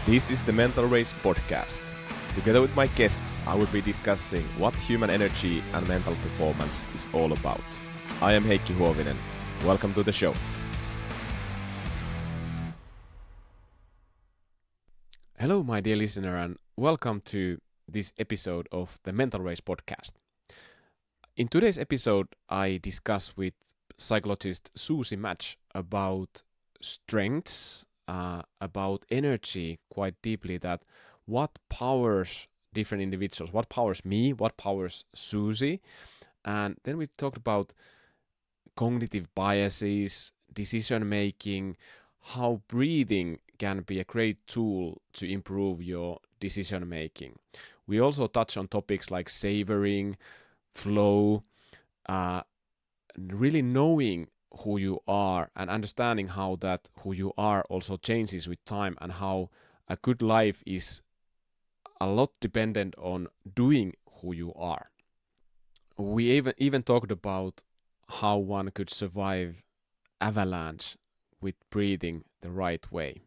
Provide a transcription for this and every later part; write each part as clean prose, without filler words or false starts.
This is the Mental Race podcast. Together with my guests, I will be discussing what human energy and mental performance is all about. I am Heikki Huovinen. Welcome to the show. Hello, my dear listener, and welcome to this episode of the Mental Race podcast. In today's episode, I discuss with psychologist Susie Match about strengths, about energy quite deeply, that what powers different individuals, what powers me, what powers Susie. And then we talked about cognitive biases, decision making, how breathing can be a great tool to improve your decision making. We also touch on topics like savoring, flow, really knowing who you are and understanding how that who you are also changes with time, and how a good life is a lot dependent on doing who you are. We even talked about how one could survive avalanche with breathing the right way.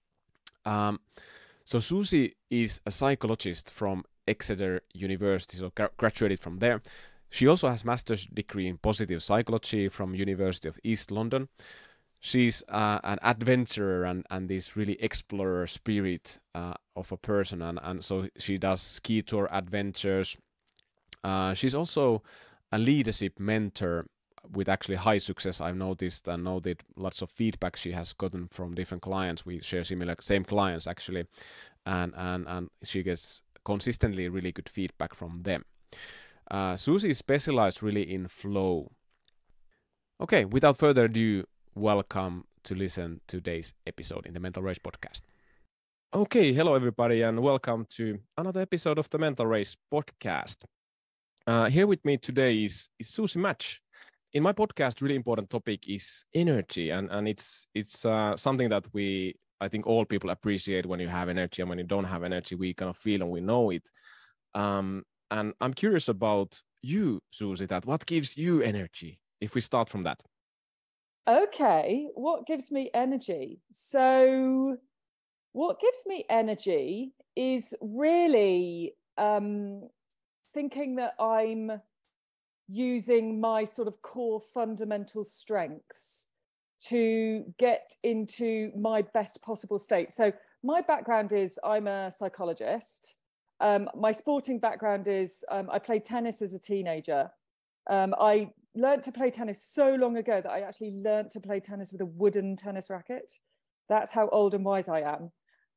So Susie is a psychologist from Exeter University, so graduated from there. She also has master's degree in positive psychology from University of East London. She's an adventurer and this really explorer spirit of a person, and so she does ski tour adventures. She's also a leadership mentor with actually high success, I've noticed, and know that lots of feedback she has gotten from different clients. We share same clients actually, and she gets consistently really good feedback from them. Susie is specialized really in flow. Okay, without further ado, welcome to listen to today's episode in the Mental Race podcast. Okay, hello everybody, and welcome to another episode of the Mental Race podcast. Here with me today is Susie Match. In my podcast, really important topic is energy, and it's something that I think all people appreciate. When you have energy and when you don't have energy, we kind of feel and we know it. And I'm curious about you, Susie, that what gives you energy, if we start from that? Okay, what gives me energy? So what gives me energy is really thinking that I'm using my sort of core fundamental strengths to get into my best possible state. So my background is I'm a psychologist. My sporting background is I played tennis as a teenager. I learned to play tennis so long ago that I actually learned to play tennis with a wooden tennis racket. That's how old and wise I am.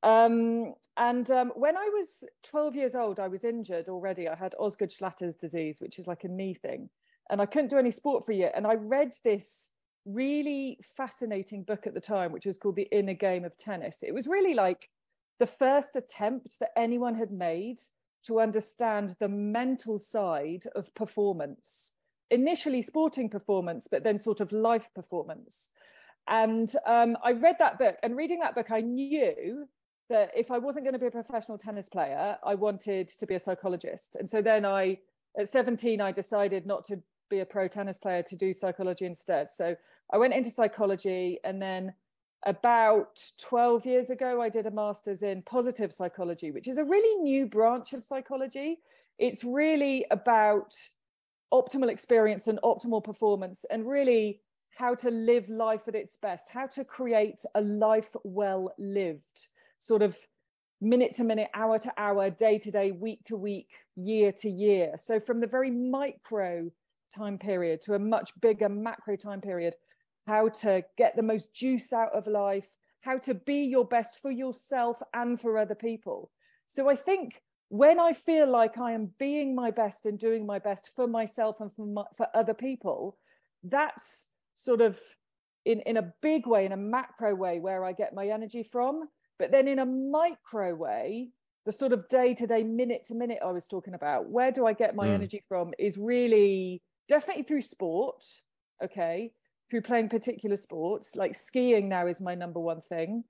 When I was 12 years old, I was injured already. I had Osgood-Schlatter's disease, which is like a knee thing. And I couldn't do any sport for a year. And I read this really fascinating book at the time, which was called The Inner Game of Tennis. It was really like the first attempt that anyone had made to understand the mental side of performance, initially sporting performance, but then sort of life performance. And I read that book, and reading that book, I knew that if I wasn't going to be a professional tennis player, I wanted to be a psychologist. And so then at 17, I decided not to be a pro tennis player, to do psychology instead. So I went into psychology, and then about 12 years ago, I did a master's in positive psychology, which is a really new branch of psychology. It's really about optimal experience and optimal performance, and really how to live life at its best, how to create a life well lived, sort of minute to minute, hour to hour, day to day, week to week, year to year. So from the very micro time period to a much bigger macro time period, how to get the most juice out of life, how to be your best for yourself and for other people. So I think when I feel like I am being my best and doing my best for myself and for other people, that's sort of in a big way, in a macro way, where I get my energy from. But then in a micro way, the sort of day-to-day, minute-to-minute I was talking about, where do I get my energy from, is really definitely through sport, okay, through playing particular sports, like skiing now is my number one thing,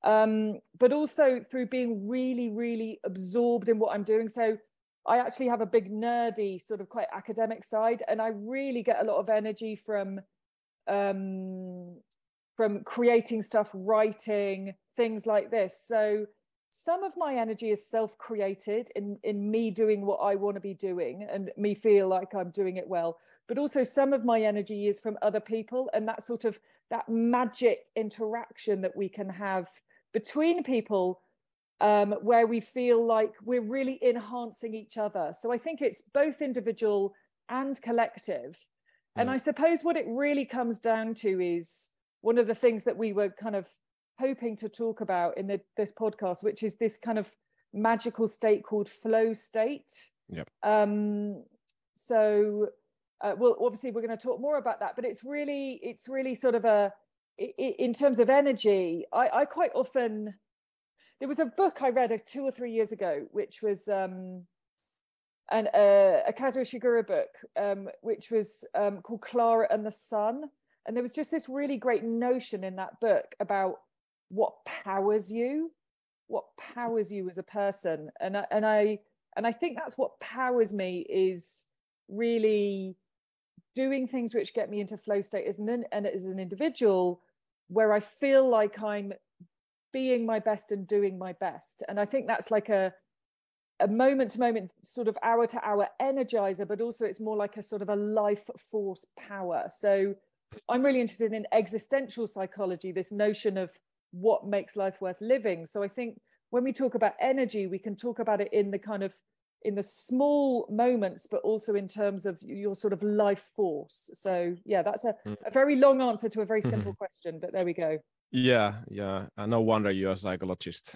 but also through being really, really absorbed in what I'm doing. So I actually have a big nerdy, sort of quite academic side, and I really get a lot of energy from creating stuff, writing, things like this. So some of my energy is self-created in me doing what I want to be doing and me feel like I'm doing it well. But also some of my energy is from other people, and that sort of that magic interaction that we can have between people, where we feel like we're really enhancing each other. So I think it's both individual and collective. And I suppose what it really comes down to is one of the things that we were kind of hoping to talk about in this podcast, which is this kind of magical state called flow state. Yep. Well, obviously we're going to talk more about that, but it's really sort of in terms of energy, I quite often, there was a book I read 2 or 3 years ago, which was a Kazuo Ishiguro book, which was called Clara and the Sun. And there was just this really great notion in that book about what powers you as a person. And I think that's what powers me, is really doing things which get me into flow state as an individual, where I feel like I'm being my best and doing my best. And I think that's like a moment to moment, sort of hour to hour energizer, but also it's more like a sort of a life force power. So I'm really interested in existential psychology, this notion of what makes life worth living. So I think when we talk about energy, we can talk about it in the kind of, in the small moments, but also in terms of your sort of life force. So yeah, that's a very long answer to a very simple question, but there we go. Yeah. No wonder you're a psychologist.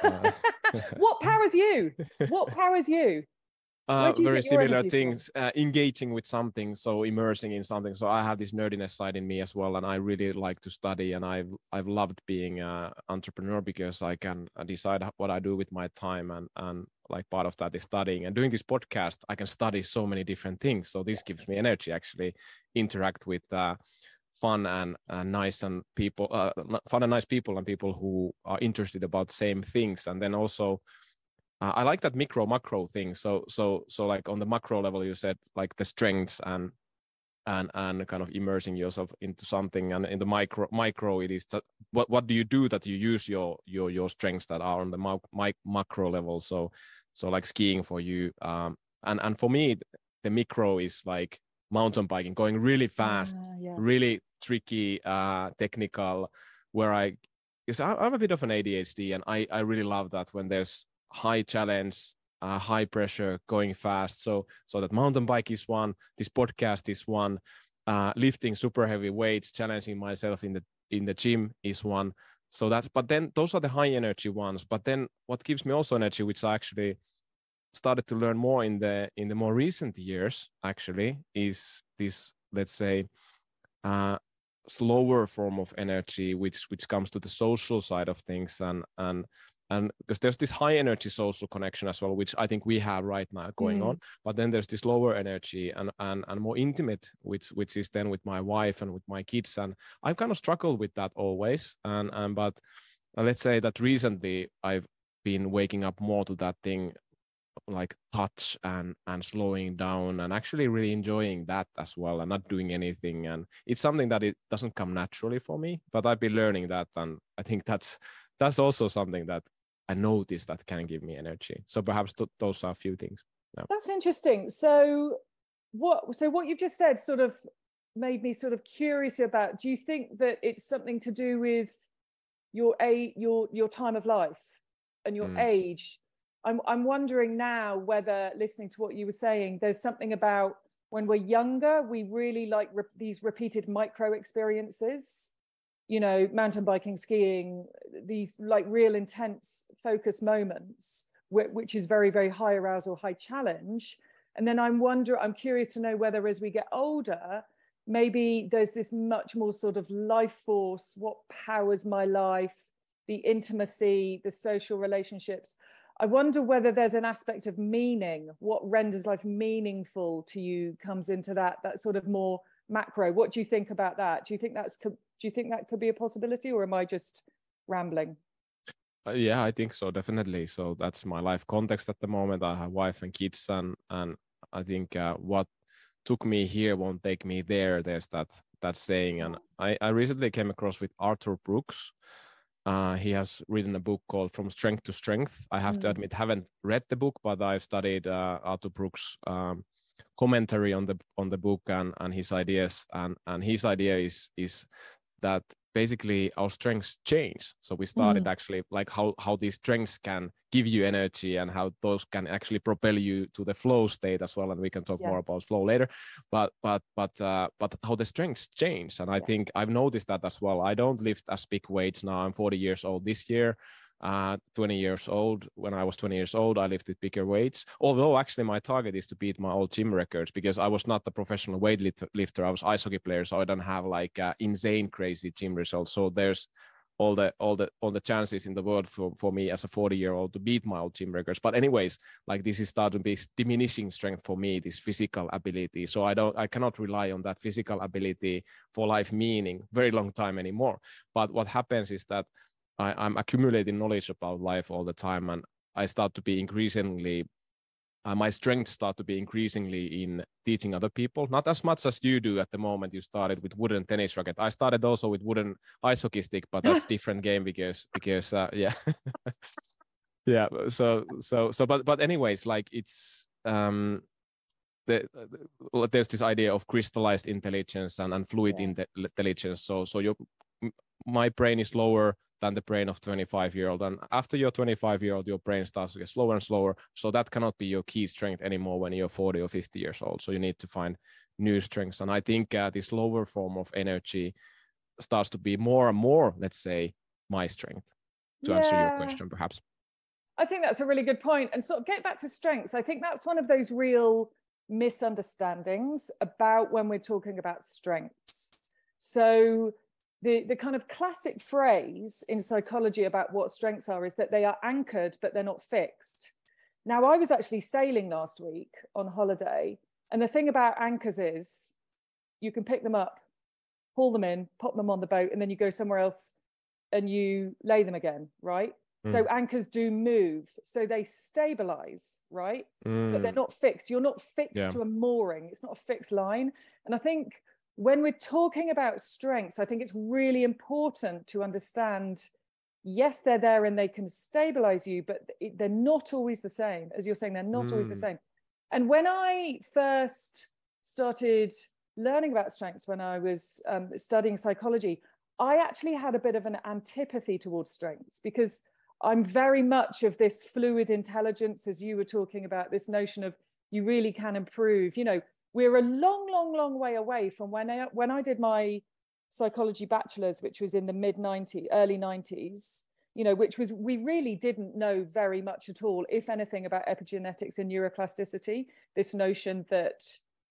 What powers you? What powers you? Very similar things, engaging with something, so immersing in something. So I have this nerdiness side in me as well, and I really like to study, and I've loved being an entrepreneur because I can decide what I do with my time, and like part of that is studying. And doing this podcast, I can study so many different things. So this gives me energy, actually interact with fun and nice and people, fun and nice people, and people who are interested about same things. And then also, I like that micro macro thing. So like on the macro level, you said like the strengths and kind of immersing yourself into something, and in the micro it is what do you do that you use your strengths that are on the macro level. So like skiing for you, and for me the micro is like mountain biking, going really fast, really tricky, technical, where I'm a bit of an ADHD, and I really love that when there's high challenge, high pressure, going fast. So that mountain bike is one, this podcast is one, lifting super heavy weights, challenging myself in the gym is one. So that's, but then those are the high energy ones. But then what gives me also energy, which I actually started to learn more in the more recent years, actually, is this, let's say, slower form of energy, which comes to the social side of things, and because there's this high energy social connection as well, which I think we have right now going on, but then there's this lower energy and more intimate, which is then with my wife and with my kids, and I've kind of struggled with that always, but let's say that recently I've been waking up more to that thing, like touch and slowing down, and actually really enjoying that as well, and not doing anything. And it's something that it doesn't come naturally for me, but I've been learning that, and I think that's also something that I notice that can give me energy. So perhaps those are a few things. Yeah. That's interesting. So what you just said sort of made me sort of curious about, do you think that it's something to do with your time of life and your age? I'm wondering now whether, listening to what you were saying, there's something about when we're younger, we really like these repeated micro experiences, you know, mountain biking, skiing, these like real intense focus moments, which is very, very high arousal, high challenge. And then I'm curious to know whether as we get older, maybe there's this much more sort of life force, what powers my life, the intimacy, the social relationships. I wonder whether there's an aspect of meaning, what renders life meaningful to you comes into that sort of more macro. What do you think about that? Do you think that could be a possibility, or am I just rambling? Yeah, I think so, definitely. So that's my life context at the moment. I have wife and kids, and I think what took me here won't take me there. There's that saying, and I recently came across with Arthur Brooks, He has written a book called From Strength to Strength. I have to admit, haven't read the book, but I've studied Arthur Brooks' commentary on the book and his ideas. And his idea is that basically our strengths change. So we started actually like how these strengths can give you energy and how those can actually propel you to the flow state as well. And we can talk more about flow later, but how the strengths change. And I think I've noticed that as well. I don't lift as big weights now. I'm 40 years old this year. 20 years old. When I was 20 years old, I lifted bigger weights. Although actually my target is to beat my old gym records, because I was not the professional weightlifter. I was ice hockey player, so I don't have like insane crazy gym results. So there's all the chances in the world for me as a 40-year-old to beat my old gym records. But anyways, like this is starting to be diminishing strength for me, this physical ability. So I cannot rely on that physical ability for life meaning very long time anymore. But what happens is that I'm accumulating knowledge about life all the time, and I start to be increasingly, my strengths start to be increasingly in teaching other people. Not as much as you do at the moment. You started with wooden tennis racket. I started also with wooden ice hockey stick, but that's different game because yeah, yeah. But anyways, like it's there's this idea of crystallized intelligence and fluid intelligence. So my brain is lower than the brain of 25-year-old. And after you're 25-year-old, your brain starts to get slower and slower. So that cannot be your key strength anymore when you're 40 or 50 years old. So you need to find new strengths. And I think this lower form of energy starts to be more and more, let's say, my strength, to answer your question, perhaps. I think that's a really good point. And sort of get back to strengths. I think that's one of those real misunderstandings about when we're talking about strengths. So the kind of classic phrase in psychology about what strengths are is that they are anchored, but they're not fixed. Now, I was actually sailing last week on holiday. And the thing about anchors is you can pick them up, haul them in, pop them on the boat, and then you go somewhere else and you lay them again, right? So anchors do move. So they stabilize, right? But they're not fixed. You're not fixed to a mooring. It's not a fixed line. And I think when we're talking about strengths, I think it's really important to understand, yes, they're there and they can stabilize you, but they're not always the same. As you're saying, they're not always the same. And when I first started learning about strengths, when I was studying psychology, I actually had a bit of an antipathy towards strengths, because I'm very much of this fluid intelligence, as you were talking about, this notion of you really can improve. You know, we're a long way away from when I did my psychology bachelor's, which was in the early 90s, you know, which was, we really didn't know very much at all, if anything, about epigenetics and neuroplasticity, this notion that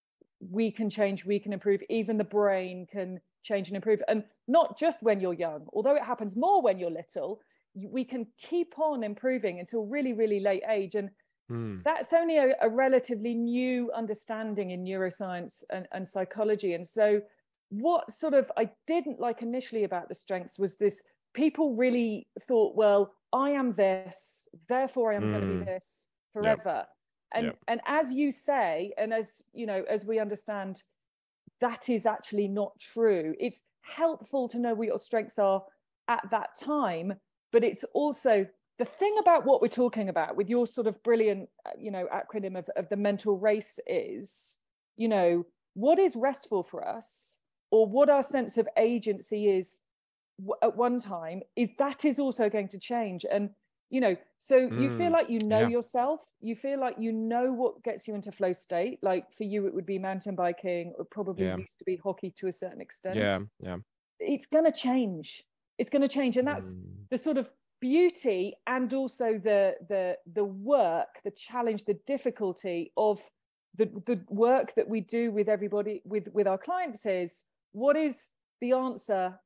we can change, we can improve, even the brain can change and improve. And not just when you're young, although it happens more when you're little, we can keep on improving until really late age. And that's only a relatively new understanding in neuroscience and psychology. And so what sort of I didn't like initially about the strengths was this, people really thought, well, I am this, therefore I am going to be this forever. And as you say, and as you know, as we understand, that is actually not true. It's helpful to know what your strengths are at that time, but it's also the thing about what we're talking about with your sort of brilliant, you know, acronym of the mental race is, you know, what is restful for us, or what our sense of agency is at one time, is also going to change. And, you know, so you feel like you know yourself, you feel like you know what gets you into flow state. Like for you, it would be mountain biking, or probably used to be hockey to a certain extent. It's going to change. It's going to change. And that's the sort of beauty, and also the work, the challenge, the difficulty of the work that we do with everybody, with our clients, is what is the answer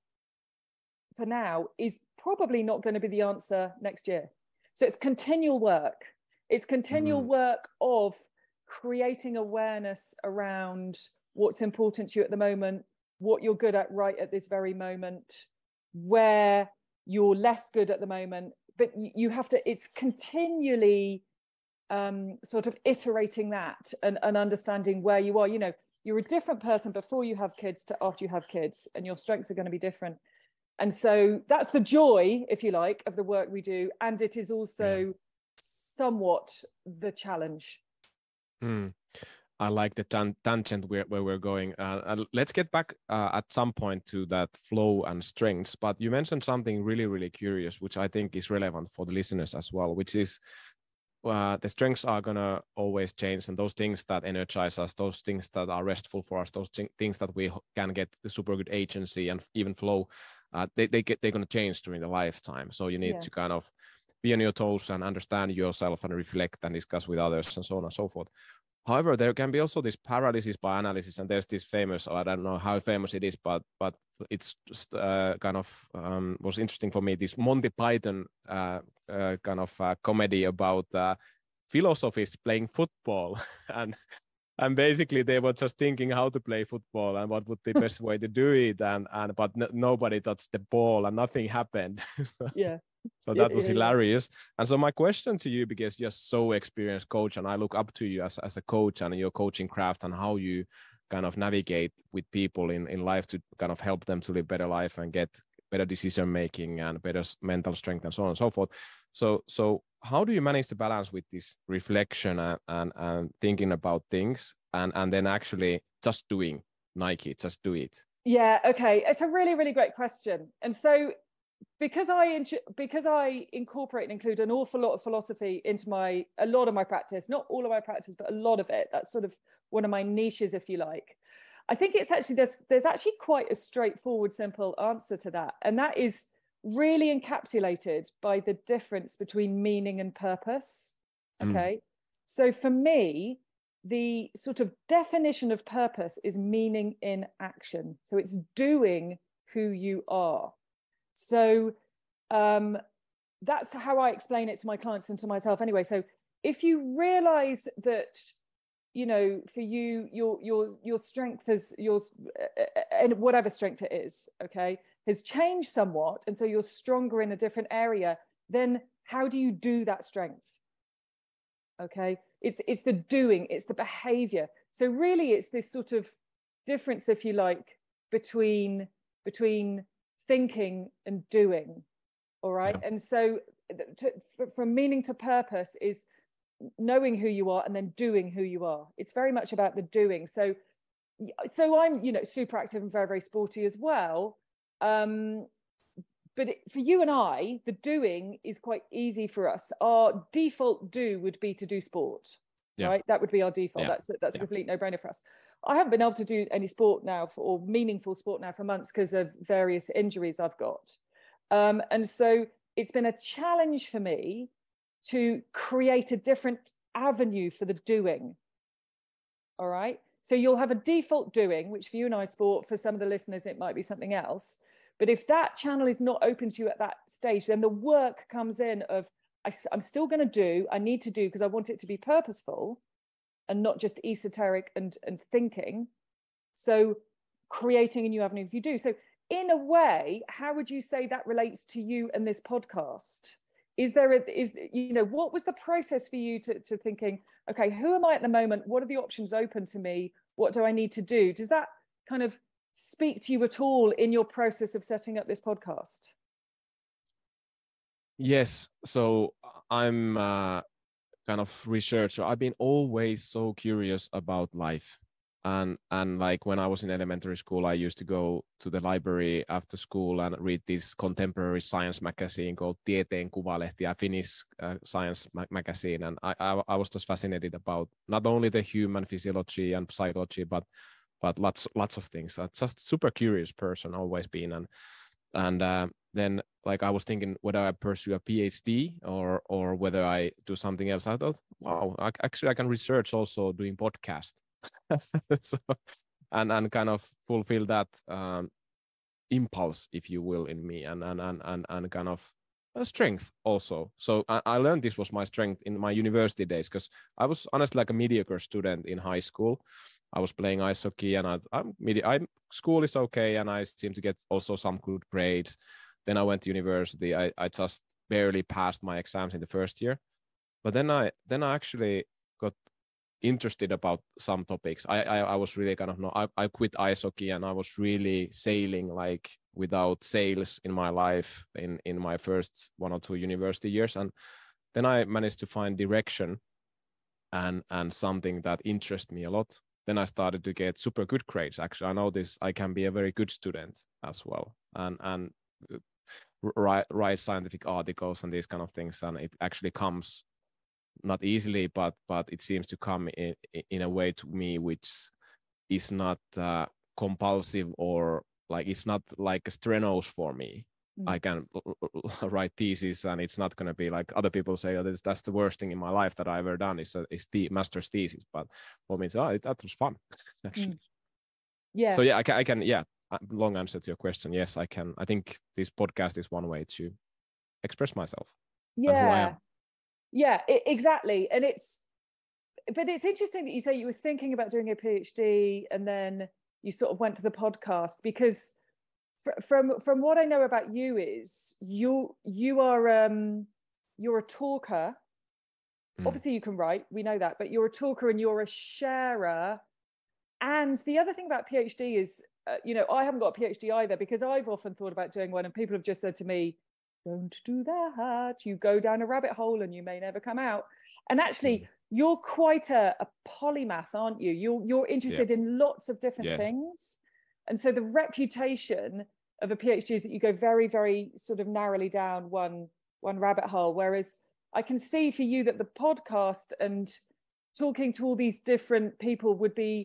for now is probably not going to be the answer next year. So it's continual work. It's continual work of creating awareness around what's important to you at the moment, what you're good at right at this very moment, where you're less good at the moment, but you have to, it's continually sort of iterating that and understanding where you are. You know, you're a different person before you have kids to after you have kids, and your strengths are going to be different. And so that's the joy, if you like, of the work we do. And it is also somewhat the challenge. I like the tangent where we're going. Let's get back at some point to that flow and strengths. But you mentioned something really, really curious, which I think is relevant for the listeners as well, which is the strengths are going to always change. And those things that energize us, those things that are restful for us, those things that we can get the super good agency and even flow, they're going to change during the lifetime. So you need to kind of be on your toes and understand yourself and reflect and discuss with others and so on and so forth. However, there can be also this paralysis by analysis, and there's this famous, I don't know how famous it is, but it's just kind of was interesting for me, this Monty Python kind of comedy about philosophists playing football, and basically they were just thinking how to play football and what would the best way to do it, but nobody touched the ball and nothing happened. So that was hilarious. And so my question to you, because you're so experienced coach, and I look up to you as a coach and your coaching craft and how you kind of navigate with people in life to kind of help them to live better life and get better decision making and better mental strength and so on and so forth. So how do you manage the balance with this reflection and thinking about things and then actually just doing Nike, just do it? Yeah, okay. It's a really, really great question. And so because I incorporate and include an awful lot of philosophy into a lot of my practice, not all of my practice, but a lot of it, that's sort of one of my niches, if you like. I think it's actually, there's actually quite a straightforward, simple answer to that. And that is really encapsulated by the difference between meaning and purpose. Okay. So for me, the sort of definition of purpose is meaning in action. So it's doing who you are. So that's how I explain it to my clients and to myself anyway. So if you realize that, you know, for you, your strength has and whatever strength it is, okay, has changed somewhat, and so you're stronger in a different area, then how do you do that strength? Okay, it's the doing, it's the behavior. So really it's this sort of difference, if you like, between thinking and doing. All right. And so from meaning to purpose is knowing who you are and then doing who you are. It's very much about the doing. So I'm, you know, super active and very, very sporty as well. But for you and I, the doing is quite easy for us. Our default do would be to do sport, right? That would be our default. That's a complete no-brainer for us. I haven't been able to do any sport now or meaningful sport now for months because of various injuries I've got. And so it's been a challenge for me to create a different avenue for the doing. All right. So you'll have a default doing, which for you and I sport, for some of the listeners, it might be something else. But if that channel is not open to you at that stage, then the work comes in of, I'm still going to do, I need to do because I want it to be purposeful and not just esoteric and thinking. So creating a new avenue if you do. So in a way, how would you say that relates to you and this podcast? What was the process for you to thinking, okay, who am I at the moment? What are the options open to me? What do I need to do? Does that kind of speak to you at all in your process of setting up this podcast? Yes. So I'm kind of researcher. I've been always so curious about life. And like when I was in elementary school, I used to go to the library after school and read this contemporary science magazine called Tieteen Kuvalehti, a Finnish science magazine. And I was just fascinated about not only the human physiology and psychology, but lots of things. I'm just super curious person, always been. And then like I was thinking whether I pursue a PhD or whether I do something else. I thought, wow, I can research also doing podcast. So, and kind of fulfill that impulse, if you will, in me, and kind of a strength also. So I learned this was my strength in my university days, because I was honestly like a mediocre student in high school. I was playing ice hockey, and school is okay, and I seem to get also some good grades. Then I went to university. I just barely passed my exams in the first year, but then I actually got interested about some topics. I was really kind of I quit ice hockey, and I was really sailing like without sales in my life in my first 1 or 2 university years. And then I managed to find direction and something that interests me a lot. Then I started to get super good grades. Actually, I noticed I can be a very good student as well, and write scientific articles and these kind of things. And it actually comes not easily, but it seems to come in a way to me which is not compulsive, or like it's not like a strenuous for me. I can write thesis, and it's not going to be like other people say, oh, that's the worst thing in my life that I've ever done is the master's thesis. But for me, that was fun actually. Yeah. So yeah, I can. Yeah, long answer to your question. Yes, I can. I think this podcast is one way to express myself. Yeah. And who I am. Yeah, exactly. And it's interesting that you say you were thinking about doing a PhD and then you sort of went to the podcast, because from what I know about you is you're a talker. Obviously you can write, we know that, but you're a talker and you're a sharer. And the other thing about PhD is, I haven't got a PhD either, because I've often thought about doing one and people have just said to me, don't do that. You go down a rabbit hole and you may never come out. And actually, you're quite a polymath, aren't you? You're interested in lots of different things. And so the reputation of a PhD is that you go very, very sort of narrowly down one rabbit hole. Whereas I can see for you that the podcast and talking to all these different people would be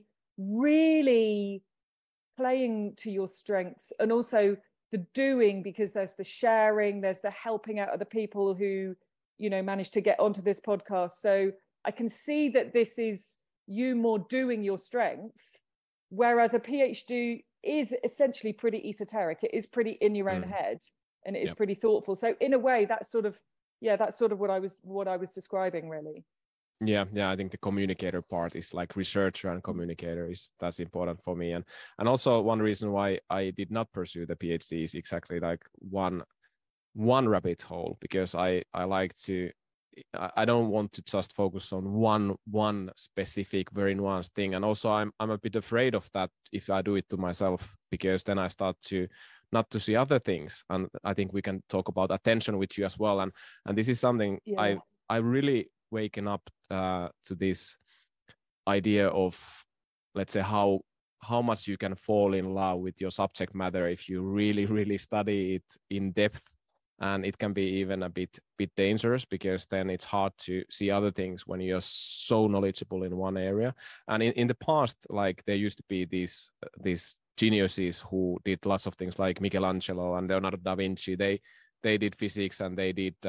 really playing to your strengths, and also the doing, because there's the sharing, there's the helping out other people who, managed to get onto this podcast. So I can see that this is you more doing your strength, whereas a PhD is essentially pretty esoteric. It is pretty in your own head, and it is pretty thoughtful. So in a way, that's sort of what I was describing, really. Yeah, I think the communicator part is like researcher and communicator that's important for me. And also one reason why I did not pursue the PhD is exactly like one rabbit hole, because I like to, I don't want to just focus on one specific very nuanced thing. And also I'm a bit afraid of that if I do it to myself, because then I start to not to see other things. And I think we can talk about attention with you as well. And this is something I really waking up to this idea of, let's say, how much you can fall in love with your subject matter if you really, really study it in depth. And it can be even a bit dangerous, because then it's hard to see other things when you're so knowledgeable in one area. And in the past, like there used to be these geniuses who did lots of things, like Michelangelo and Leonardo da Vinci. They did physics, and they did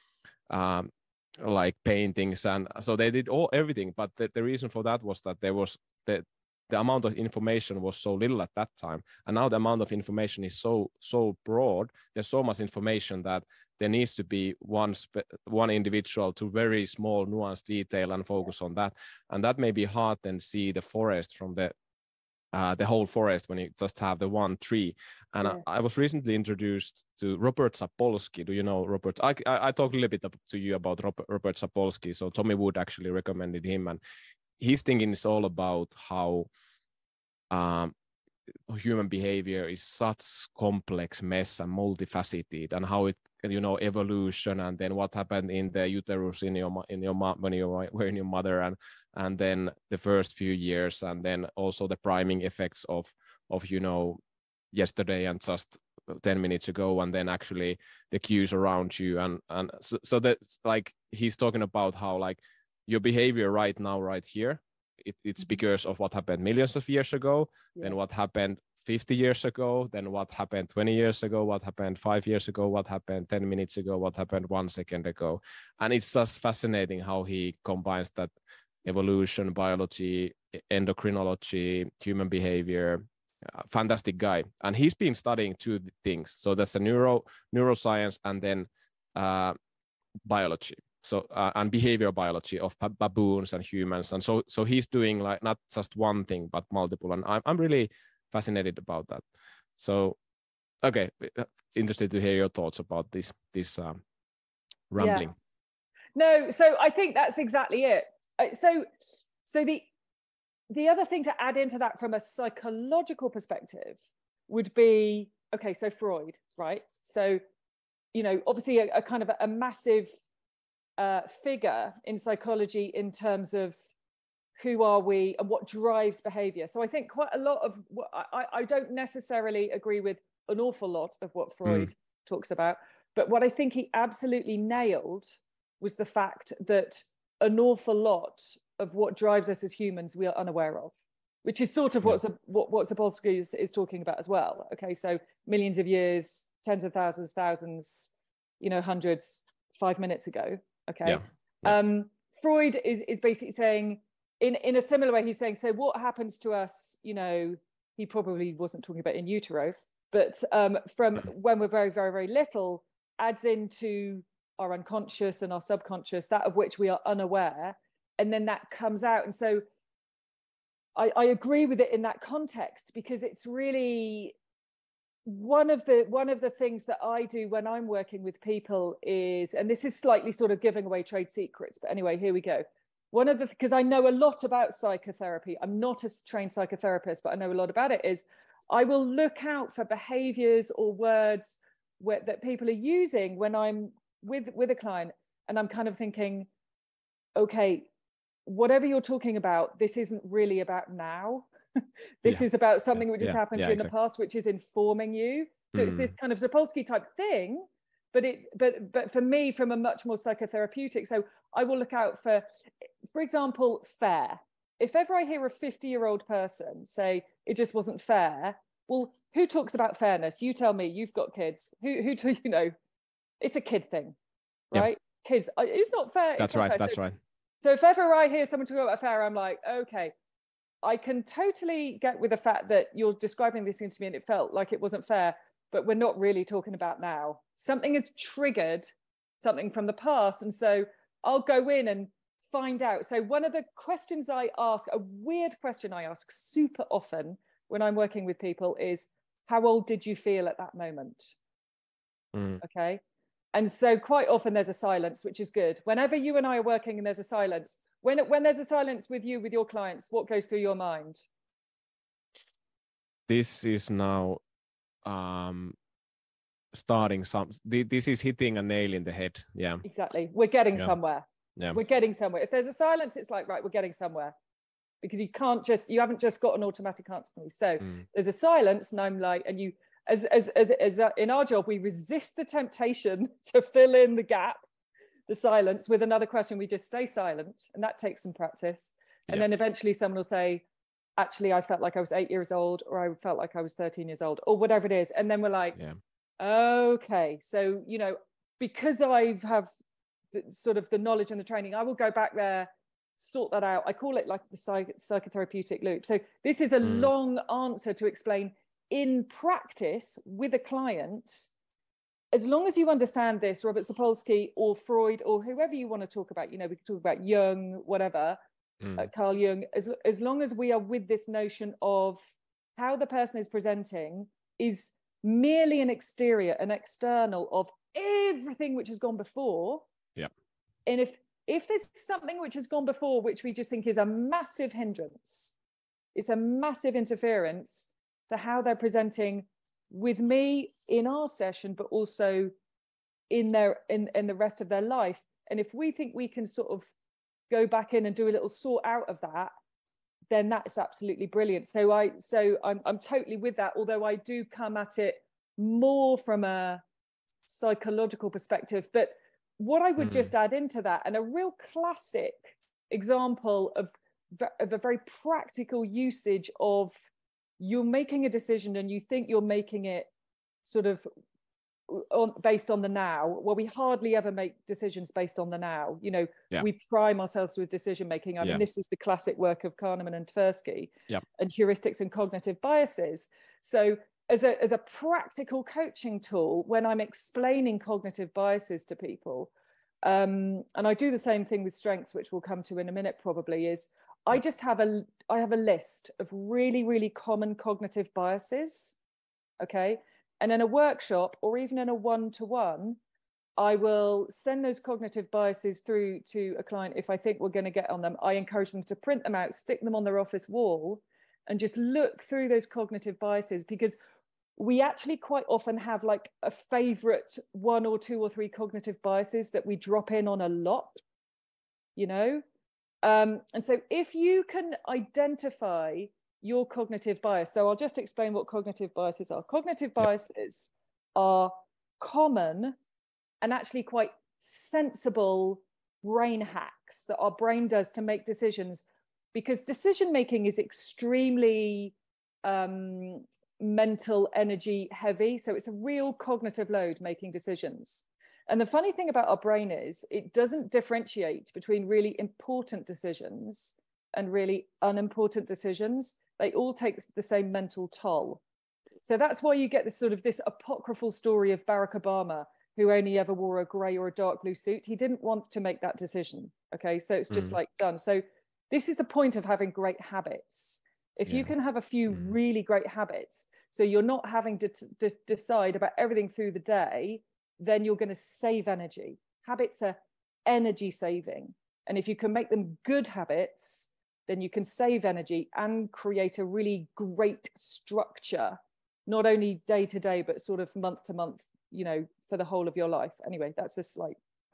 like paintings, and so they did everything. But the reason for that was that there was the amount of information was so little at that time, and now the amount of information is so broad. There's so much information that there needs to be one individual to very small nuanced detail and focus on that. And that may be hard then see the forest from the whole forest when you just have the one tree. And I was recently introduced to Robert Sapolsky. Do you know Robert? I talked a little bit to you about Robert Sapolsky. So Tommy Wood actually recommended him, and his thinking is all about how human behavior is such complex mess and multifaceted, and how it, evolution, and then what happened in the uterus when you were in your mother, and then the first few years, and then also the priming effects of yesterday and just 10 minutes ago, and then actually the cues around you, and so that's like he's talking about how like your behavior right now, right here, it's because of what happened millions of years ago, then what happened 50 years ago, then what happened 20 years ago, what happened 5 years ago, what happened 10 minutes ago, what happened 1 second ago. And it's just fascinating how he combines that evolution, biology, endocrinology, human behavior. Fantastic guy. And he's been studying two things. So that's the neuroscience, and then biology. So and behavioral biology of baboons and humans. And so he's doing like not just one thing, but multiple. And I'm really fascinated about that. So, okay, interested to hear your thoughts about this rambling. No, so I think that's exactly it. So the other thing to add into that from a psychological perspective would be okay, so Freud, right? So, you know, obviously a kind of a massive figure in psychology in terms of who are we and what drives behavior. So I think quite a lot of what I don't necessarily agree with an awful lot of what Freud talks about, but what I think he absolutely nailed was the fact that an awful lot of what drives us as humans we are unaware of, which is sort of what Sapolsky is talking about as well. Okay, so millions of years, tens of thousands, you know, hundreds, 5 minutes ago. Okay, Freud is basically saying, in a similar way, he's saying, so what happens to us, you know, he probably wasn't talking about in utero, but from when we're very, very, very little, adds into our unconscious and our subconscious, that of which we are unaware, and then that comes out. And so I agree with it in that context, because it's really one of the things that I do when I'm working with people is, and this is slightly sort of giving away trade secrets, but anyway, here we go. Because I know a lot about psychotherapy, I'm not a trained psychotherapist, but I know a lot about it, is I will look out for behaviors or words that people are using when I'm with a client, and I'm kind of thinking, okay, whatever you're talking about, this isn't really about now. This is about something which has happened to you in the past, which is informing you. So it's this kind of Sapolsky type thing, but for me, from a much more psychotherapeutic. So I will look out for example, fair. If ever I hear a 50-year-old person say it just wasn't fair, well, who talks about fairness? You tell me. You've got kids. Who do you know? It's a kid thing, right? Kids, it's not fair. That's right. That's right. So if ever I hear someone talk about fair, I'm like, okay, I can totally get with the fact that you're describing this thing to me and it felt like it wasn't fair, but we're not really talking about now. Something has triggered something from the past. And so I'll go in and find out. So one of the questions I ask, a weird question I ask super often when I'm working with people is, how old did you feel at that moment? Okay. And so quite often there's a silence, which is good. Whenever you and I are working and there's a silence, when there's a silence with you, with your clients, what goes through your mind? This is now starting this is hitting a nail in the head. Yeah, exactly. We're getting somewhere. Yeah, we're getting somewhere. If there's a silence, it's like, right, we're getting somewhere, because you haven't just got an automatic answer for me. So there's a silence, and I'm like, and you, as in our job, we resist the temptation to fill in the gap, the silence, with another question. We just stay silent, and that takes some practice. And then eventually someone will say, actually, I felt like I was 8 years old, or I felt like I was 13 years old, or whatever it is. And then we're like, okay, so, you know, because I have sort of the knowledge and the training, I will go back there, sort that out. I call it like the psychotherapeutic loop. So this is a long answer to explain in practice with a client. As long as you understand this, Robert Sapolsky or Freud or whoever you want to talk about, you know, we can talk about Jung, whatever, Carl Jung, as long as we are with this notion of how the person is presenting is merely an exterior, an external of everything which has gone before. And if there's something which has gone before, which we just think is a massive hindrance, it's a massive interference to how they're presenting with me in our session, but also in the rest of their life. And if we think we can sort of go back in and do a little sort out of that, then that's absolutely brilliant. So I'm totally with that, although I do come at it more from a psychological perspective. But what I would just add into that, and a real classic example of a very practical usage of, you're making a decision and you think you're making it sort of based on the now. Well, we hardly ever make decisions based on the now. You know, we prime ourselves with decision making. I mean, this is the classic work of Kahneman and Tversky, and heuristics and cognitive biases. So as a practical coaching tool, when I'm explaining cognitive biases to people, and I do the same thing with strengths, which we'll come to in a minute probably, is I just have I have a list of really, really common cognitive biases, okay? And in a workshop or even in a one-to-one, I will send those cognitive biases through to a client. If I think we're going to get on them, I encourage them to print them out, stick them on their office wall, and just look through those cognitive biases, because we actually quite often have like a favorite 1 or 2 or 3 cognitive biases that we drop in on a lot, you know? And so if you can identify your cognitive bias, so I'll just explain what cognitive biases are. Cognitive biases are common and actually quite sensible brain hacks that our brain does to make decisions, because decision making is extremely mental energy heavy. So it's a real cognitive load making decisions. And the funny thing about our brain is it doesn't differentiate between really important decisions and really unimportant decisions. They all take the same mental toll. So that's why you get this sort of this apocryphal story of Barack Obama, who only ever wore a gray or a dark blue suit. He didn't want to make that decision. Okay, so it's just like done. So this is the point of having great habits. If you can have a few really great habits, so you're not having to decide about everything through the day, then you're going to save energy. Habits are energy saving. And if you can make them good habits, then you can save energy and create a really great structure, not only day to day, but sort of month to month, you know, for the whole of your life. Anyway, that's a slight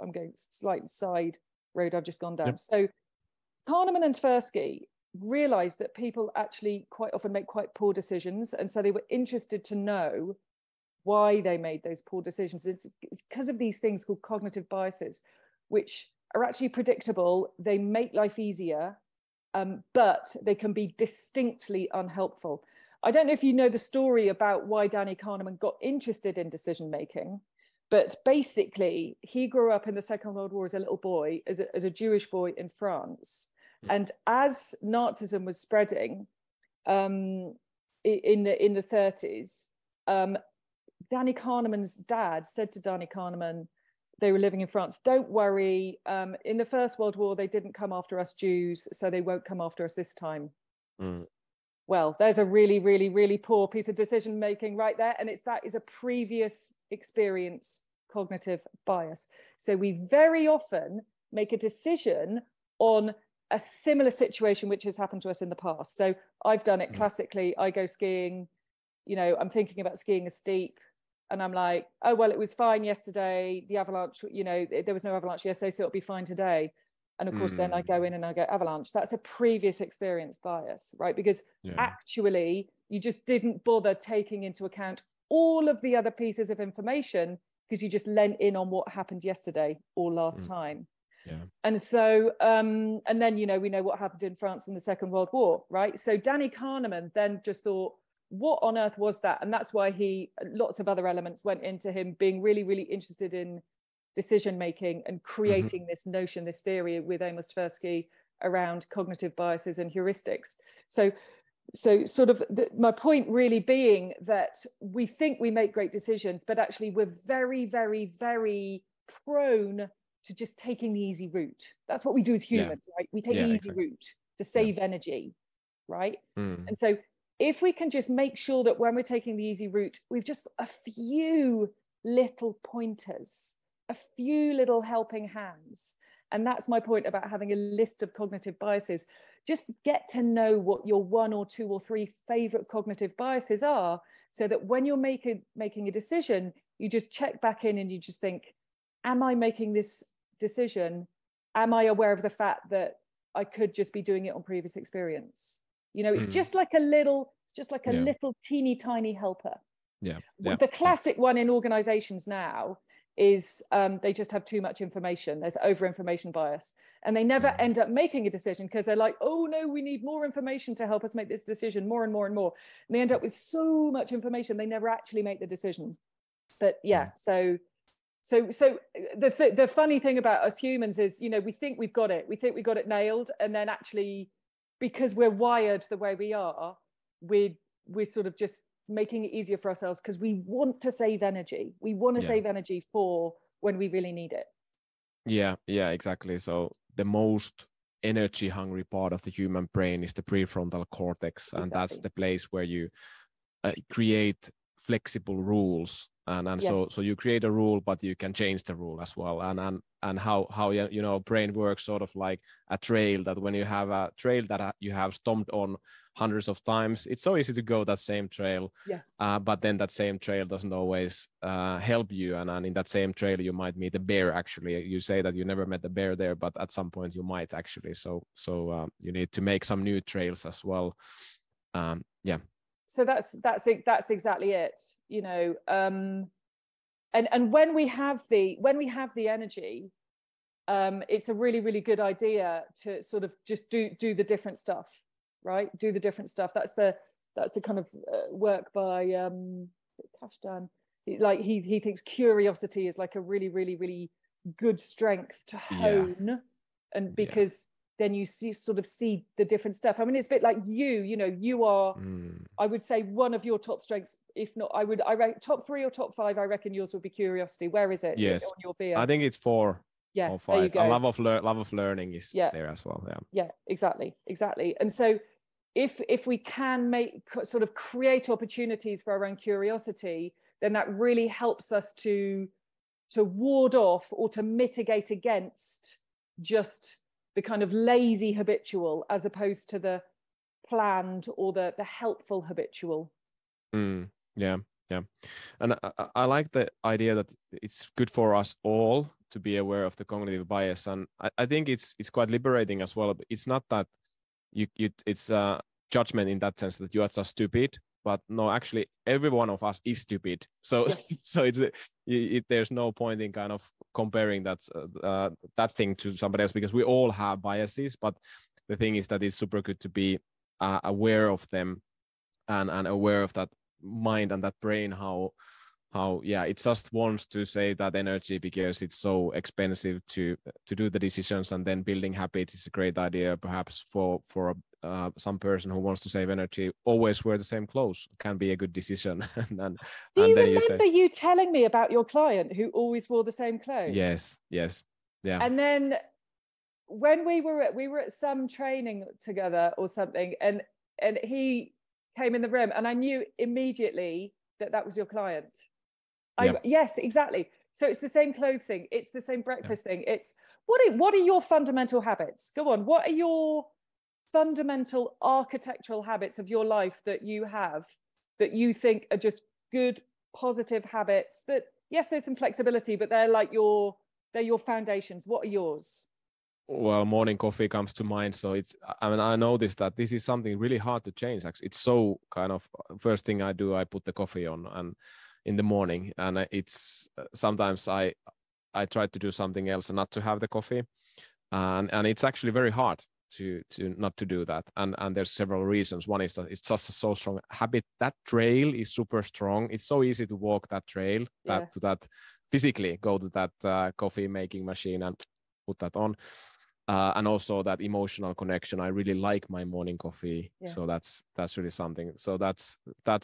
side road I've just gone down. So Kahneman and Tversky realized that people actually quite often make quite poor decisions. And so they were interested to know why they made those poor decisions. It's because of these things called cognitive biases, which are actually predictable. They make life easier, but they can be distinctly unhelpful. I don't know if you know the story about why Danny Kahneman got interested in decision making, but basically he grew up in the Second World War as a little boy, as a Jewish boy in France. And as Nazism was spreading in the 30s, Danny Kahneman's dad said to Danny Kahneman, they were living in France, don't worry, in the First World War, they didn't come after us Jews, so they won't come after us this time. Well, there's a really, really, really poor piece of decision making right there. And that is a previous experience cognitive bias. So we very often make a decision on a similar situation which has happened to us in the past. So I've done it classically. I go skiing, you know, I'm thinking about skiing a steep, and I'm like, oh, well, it was fine yesterday. The avalanche, you know, there was no avalanche yesterday, so it'll be fine today. And of course, then I go in and I go avalanche. That's a previous experience bias, right? Because actually, you just didn't bother taking into account all of the other pieces of information because you just lent in on what happened yesterday or last time. And so, and then, you know, we know what happened in France in the Second World War, right? So Danny Kahneman then just thought, what on earth was that? And that's why lots of other elements went into him being really, really interested in decision making and creating this notion, this theory with Amos Tversky around cognitive biases and heuristics. So sort of my point really being that we think we make great decisions, but actually we're very, very, very prone to just taking the easy route. That's what we do as humans, right? We take the easy route to save energy, right? And so if we can just make sure that when we're taking the easy route, we've just got a few little pointers, a few little helping hands. And that's my point about having a list of cognitive biases. Just get to know what your 1 or 2 or 3 favorite cognitive biases are, so that when you're making a decision, you just check back in and you just think, am I making this decision? Am I aware of the fact that I could just be doing it on previous experience? You know, it's just like a little teeny tiny helper. The classic one in organizations now is they just have too much information. There's over information bias, and they never end up making a decision because they're like, oh no, we need more information to help us make this decision, more and more and more. And they end up with so much information, they never actually make the decision. But so the funny thing about us humans is, you know, we think we've got it. We think we got it nailed. And then actually, because we're wired the way we are, we're sort of just making it easier for ourselves because we want to save energy. We want to save energy for when we really need it. Yeah, exactly. So the most energy hungry part of the human brain is the prefrontal cortex. And that's the place where you create flexible rules and Yes. so you create a rule, but you can change the rule as well. And how you know, brain works sort of like a trail, that when you have a trail that you have stomped on hundreds of times, it's so easy to go that same trail. Yeah. But then that same trail doesn't always help you, and in that same trail you might meet a bear. Actually, you say that you never met a bear there, but at some point you might actually. So you need to make some new trails as well. Yeah. So that's exactly it, you know. And when we have the energy, it's a really, really good idea to sort of just do the different stuff, right? Do the different stuff. That's the kind of work by Kashdan. Like he thinks curiosity is like a really, really, really good strength to hone, and because then you sort of see the different stuff. I mean, it's a bit like you know, you are, I would say one of your top strengths, if not, I rank top 3 or top 5, I reckon yours would be curiosity. Where is it? Yes. On your VIA? I think it's 4 or 5. There you go. A love of learning is there as well. Yeah, exactly. And so if we can sort of create opportunities for our own curiosity, then that really helps us to ward off or to mitigate against just the kind of lazy habitual, as opposed to the planned or the helpful habitual. Yeah. And I like the idea that it's good for us all to be aware of the cognitive bias, and I think it's quite liberating as well. It's not that it's a judgment in that sense that you are just stupid, but no, actually every one of us is stupid. So yes. So there's no point in kind of comparing that thing to somebody else, because we all have biases. But the thing is that it's super good to be aware of them, and aware of that mind and that brain, how it just wants to save that energy because it's so expensive to do the decisions. And then building habits is a great idea, perhaps for some person who wants to save energy. Always wear the same clothes can be a good decision. Do you remember you telling me about your client who always wore the same clothes? Yes, yeah. And then when we were at some training together or something, and he came in the room, and I knew immediately that was your client. Yes, exactly. So it's the same clothing, it's the same breakfast thing. It's what are your fundamental habits? Go on. What are your fundamental architectural habits of your life that you have, that you think are just good, positive habits? That, yes, there's some flexibility, but they're your foundations. What are yours? Well, morning coffee comes to mind. So I noticed that this is something really hard to change. Actually, it's so kind of first thing I do, I put the coffee on and in the morning, and it's sometimes I try to do something else and not to have the coffee, and it's actually very hard to not to do that. And there's several reasons. One is that it's just a so strong habit. That trail is super strong. It's so easy to walk that trail, that physically go to that coffee making machine and put that on. And also that emotional connection. I really like my morning coffee, so that's really something. So that's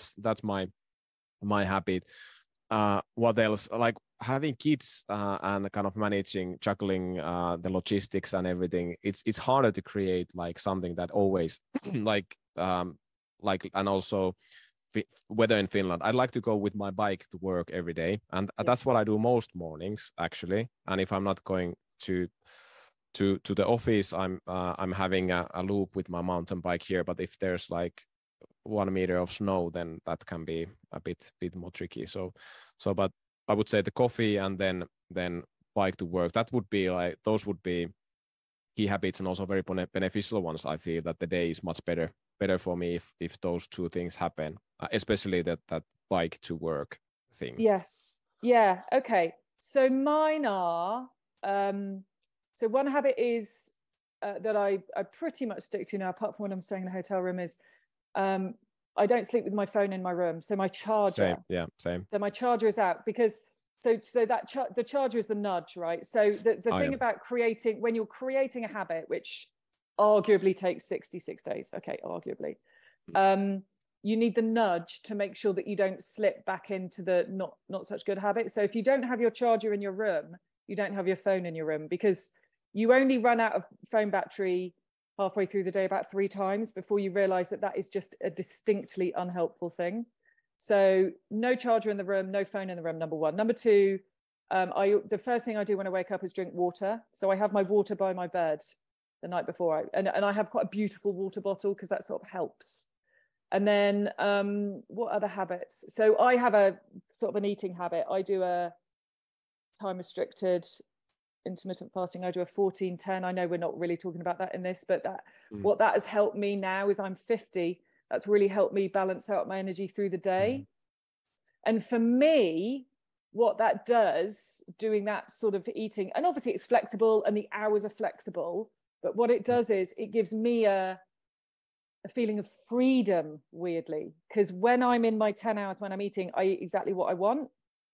my habit. What else? Like having kids and kind of juggling the logistics and everything. It's harder to create like something that always like and also weather in Finland. I like to go with my bike to work every day, and that's what I do most mornings actually. And if I'm not going to the office, I'm having a loop with my mountain bike here. But if there's like 1 meter of snow, then that can be a bit more tricky. So but I would say the coffee and then bike to work, that would be like, those would be key habits, and also very beneficial ones. I feel that the day is much better for me if those two things happen, especially that bike to work thing. Yes. Yeah. Okay. So mine are so one habit is that I pretty much stick to now, apart from when I'm staying in a hotel room, is I don't sleep with my phone in my room. So my charger. Same. So my charger is out, because so that the charger is the nudge, right? So the thing about when you're creating a habit, which arguably takes 66 days, okay, arguably, you need the nudge to make sure that you don't slip back into the not such good habit. So if you don't have your charger in your room, you don't have your phone in your room, because you only run out of phone battery halfway through the day about 3 times before you realize that is just a distinctly unhelpful thing. So no charger in the room, no phone in the room, number one. Number two, the first thing I do when I wake up is drink water. So I have my water by my bed the night before. And I have quite a beautiful water bottle because that sort of helps. And then what other habits? So I have a sort of an eating habit. I do a time restricted intermittent fasting. I do a 14-10. I know we're not really talking about that in this, but what that has helped me now is I'm 50. That's really helped me balance out my energy through the day. And for me, what that does, doing that sort of eating, and obviously it's flexible and the hours are flexible, but what it does is it gives me a feeling of freedom, weirdly, because when I'm in my 10 hours when I'm eating, I eat exactly what I want.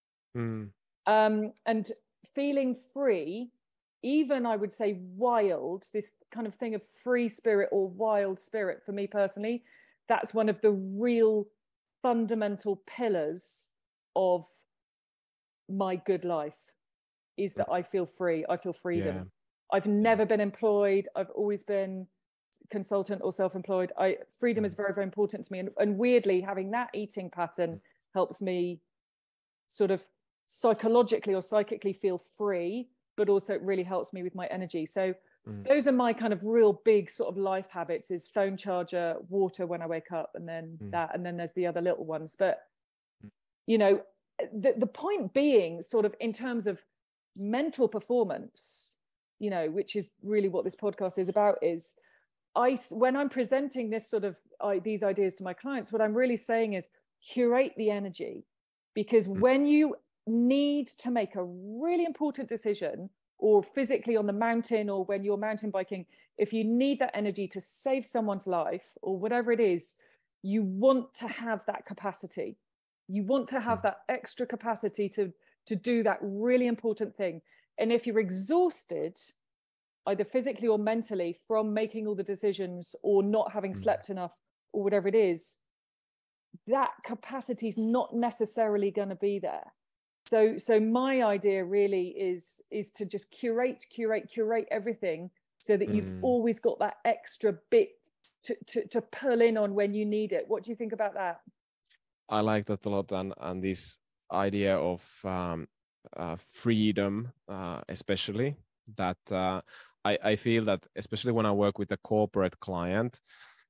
And feeling free, even I would say wild, this kind of thing of free spirit or wild spirit for me personally, that's one of the real fundamental pillars of my good life, is that I feel free. I feel freedom. Yeah. I've never been employed. I've always been consultant or self-employed. Freedom is very, very important to me. And weirdly, having that eating pattern helps me sort of psychologically or psychically feel free, but also it really helps me with my energy. So those are my kind of real big sort of life habits, is phone charger, water when I wake up, and then that, and then there's the other little ones. But, you know, the point being sort of in terms of mental performance, you know, which is really what this podcast is about, is when I'm presenting this sort of these ideas to my clients, what I'm really saying is curate the energy, because when you need to make a really important decision, or physically on the mountain, or when you're mountain biking, if you need that energy to save someone's life or whatever it is, you want to have that capacity. You want to have that extra capacity to do that really important thing. And if you're exhausted, either physically or mentally, from making all the decisions or not having slept enough or whatever it is, that capacity is not necessarily going to be there. So my idea really is to just curate everything, so that you've always got that extra bit to pull in on when you need it. What do you think about that? I like that a lot, and this idea of freedom, especially that I feel that, especially when I work with a corporate client,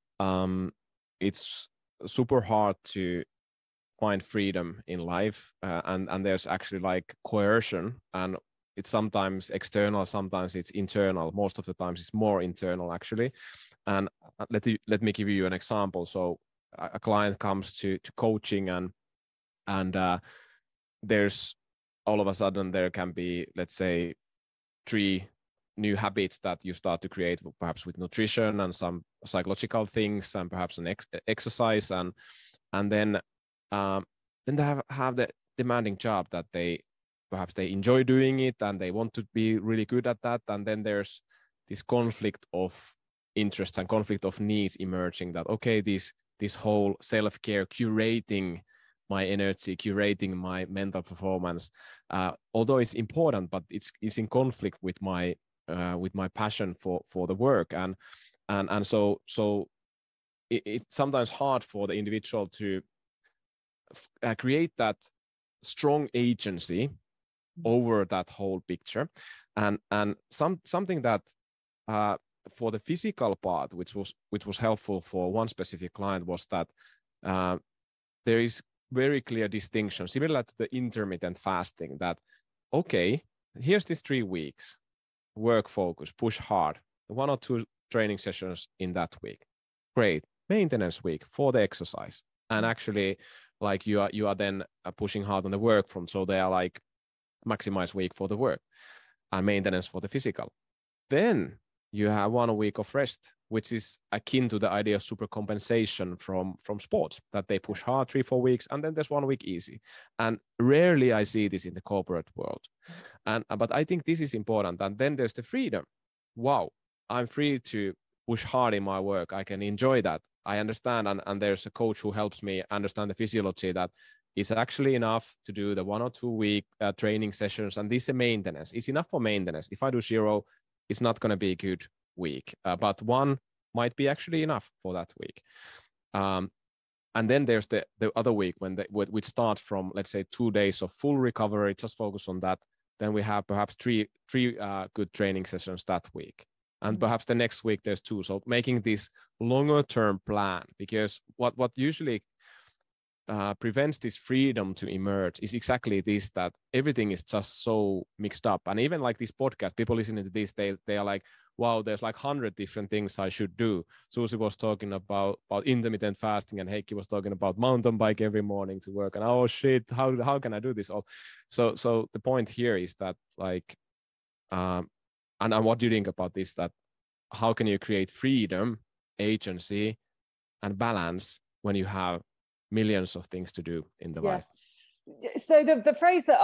it's super hard to find freedom in life, and there's actually like coercion, and it's sometimes external, sometimes it's internal. Most of the times it's more internal, actually. And let me give you an example. So a client comes to coaching, and there's all of a sudden there can be, let's say, 3 new habits that you start to create, perhaps with nutrition and some psychological things, and perhaps an exercise, and then they have the demanding job that they enjoy doing it, and they want to be really good at that. And then there's this conflict of interests and conflict of needs emerging, that, okay, this whole self-care, curating my energy, curating my mental performance, although it's important, but it's in conflict with my passion for the work. And so it's sometimes hard for the individual to create that strong agency over that whole picture. And something that for the physical part, which was helpful for one specific client, was that there is very clear distinction, similar to the intermittent fasting, that, okay, here's this 3 weeks, work focus, push hard, 1 or 2 training sessions in that week. Great. Maintenance week for the exercise. And actually, like you are then pushing hard on the work front. So they are like maximize week for the work and maintenance for the physical. Then you have 1 week of rest, which is akin to the idea of super compensation from sports, that they push hard 3-4 weeks, and then there's 1 week easy. And rarely I see this in the corporate world. But I think this is important. And then there's the freedom. Wow, I'm free to push hard in my work. I can enjoy that. I understand. And there's a coach who helps me understand the physiology, that it's actually enough to do the 1 or 2 week training sessions. And this is maintenance. It's enough for maintenance. If I do 0, it's not going to be a good week. But 1 might be actually enough for that week. And then there's the other week when we start from, let's say, 2 days of full recovery, just focus on that. Then we have perhaps three good training sessions that week. And perhaps the next week there's 2. So making this longer term plan, because what usually prevents this freedom to emerge is exactly this, that everything is just so mixed up. And even like this podcast, people listening to this, they are like, wow, there's like 100 different things I should do. Susie was talking about intermittent fasting, and Heikki was talking about mountain bike every morning to work. And oh shit, how can I do this all? So the point here is that like, and what do you think about this? That how can you create freedom, agency, and balance when you have millions of things to do in the life? So the phrase that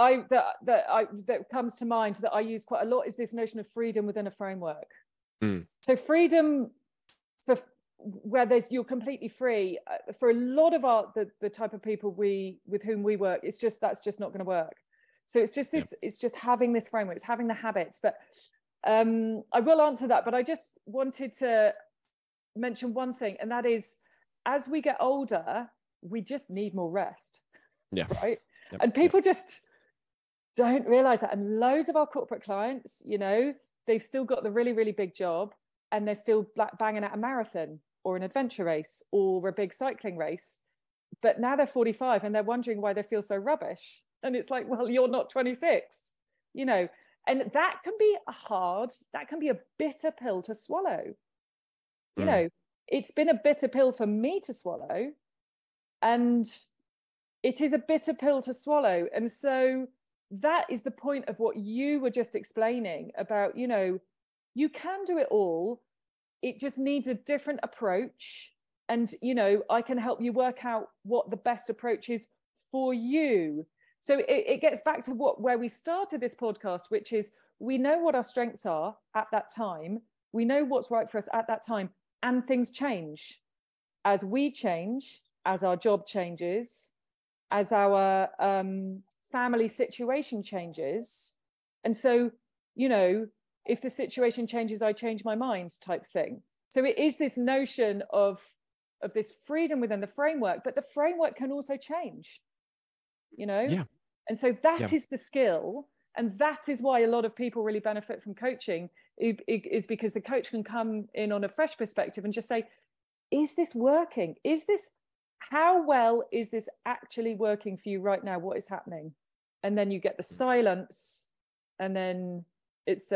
comes to mind that I use quite a lot is this notion of freedom within a framework. So freedom for where you're completely free, for a lot of the type of people with whom we work, that's just not going to work. So it's just this, it's just having this framework, it's having the habits that I will answer that, but I just wanted to mention one thing, and that is, as we get older, we just need more rest. Right. Yep. And people just don't realize that. And loads of our corporate clients, they've still got the really, really big job, and they're still banging out a marathon or an adventure race or a big cycling race. But now they're 45 and they're wondering why they feel so rubbish. And it's like, well, you're not 26, and that can be a bitter pill to swallow. It's been a bitter pill for me to swallow, and it is a bitter pill to swallow. And so that is the point of what you were just explaining about, you can do it all. It just needs a different approach. And, I can help you work out what the best approach is for you. So it gets back to where we started this podcast, which is we know what our strengths are at that time. We know what's right for us at that time, and things change as we change, as our job changes, as our family situation changes. And so, if the situation changes, I change my mind type thing. So it is this notion of this freedom within the framework, but the framework can also change, And so that is the skill. And that is why a lot of people really benefit from coaching, is because the coach can come in on a fresh perspective and just say, is this working? How well is this actually working for you right now? What is happening? And then you get the silence, and then it's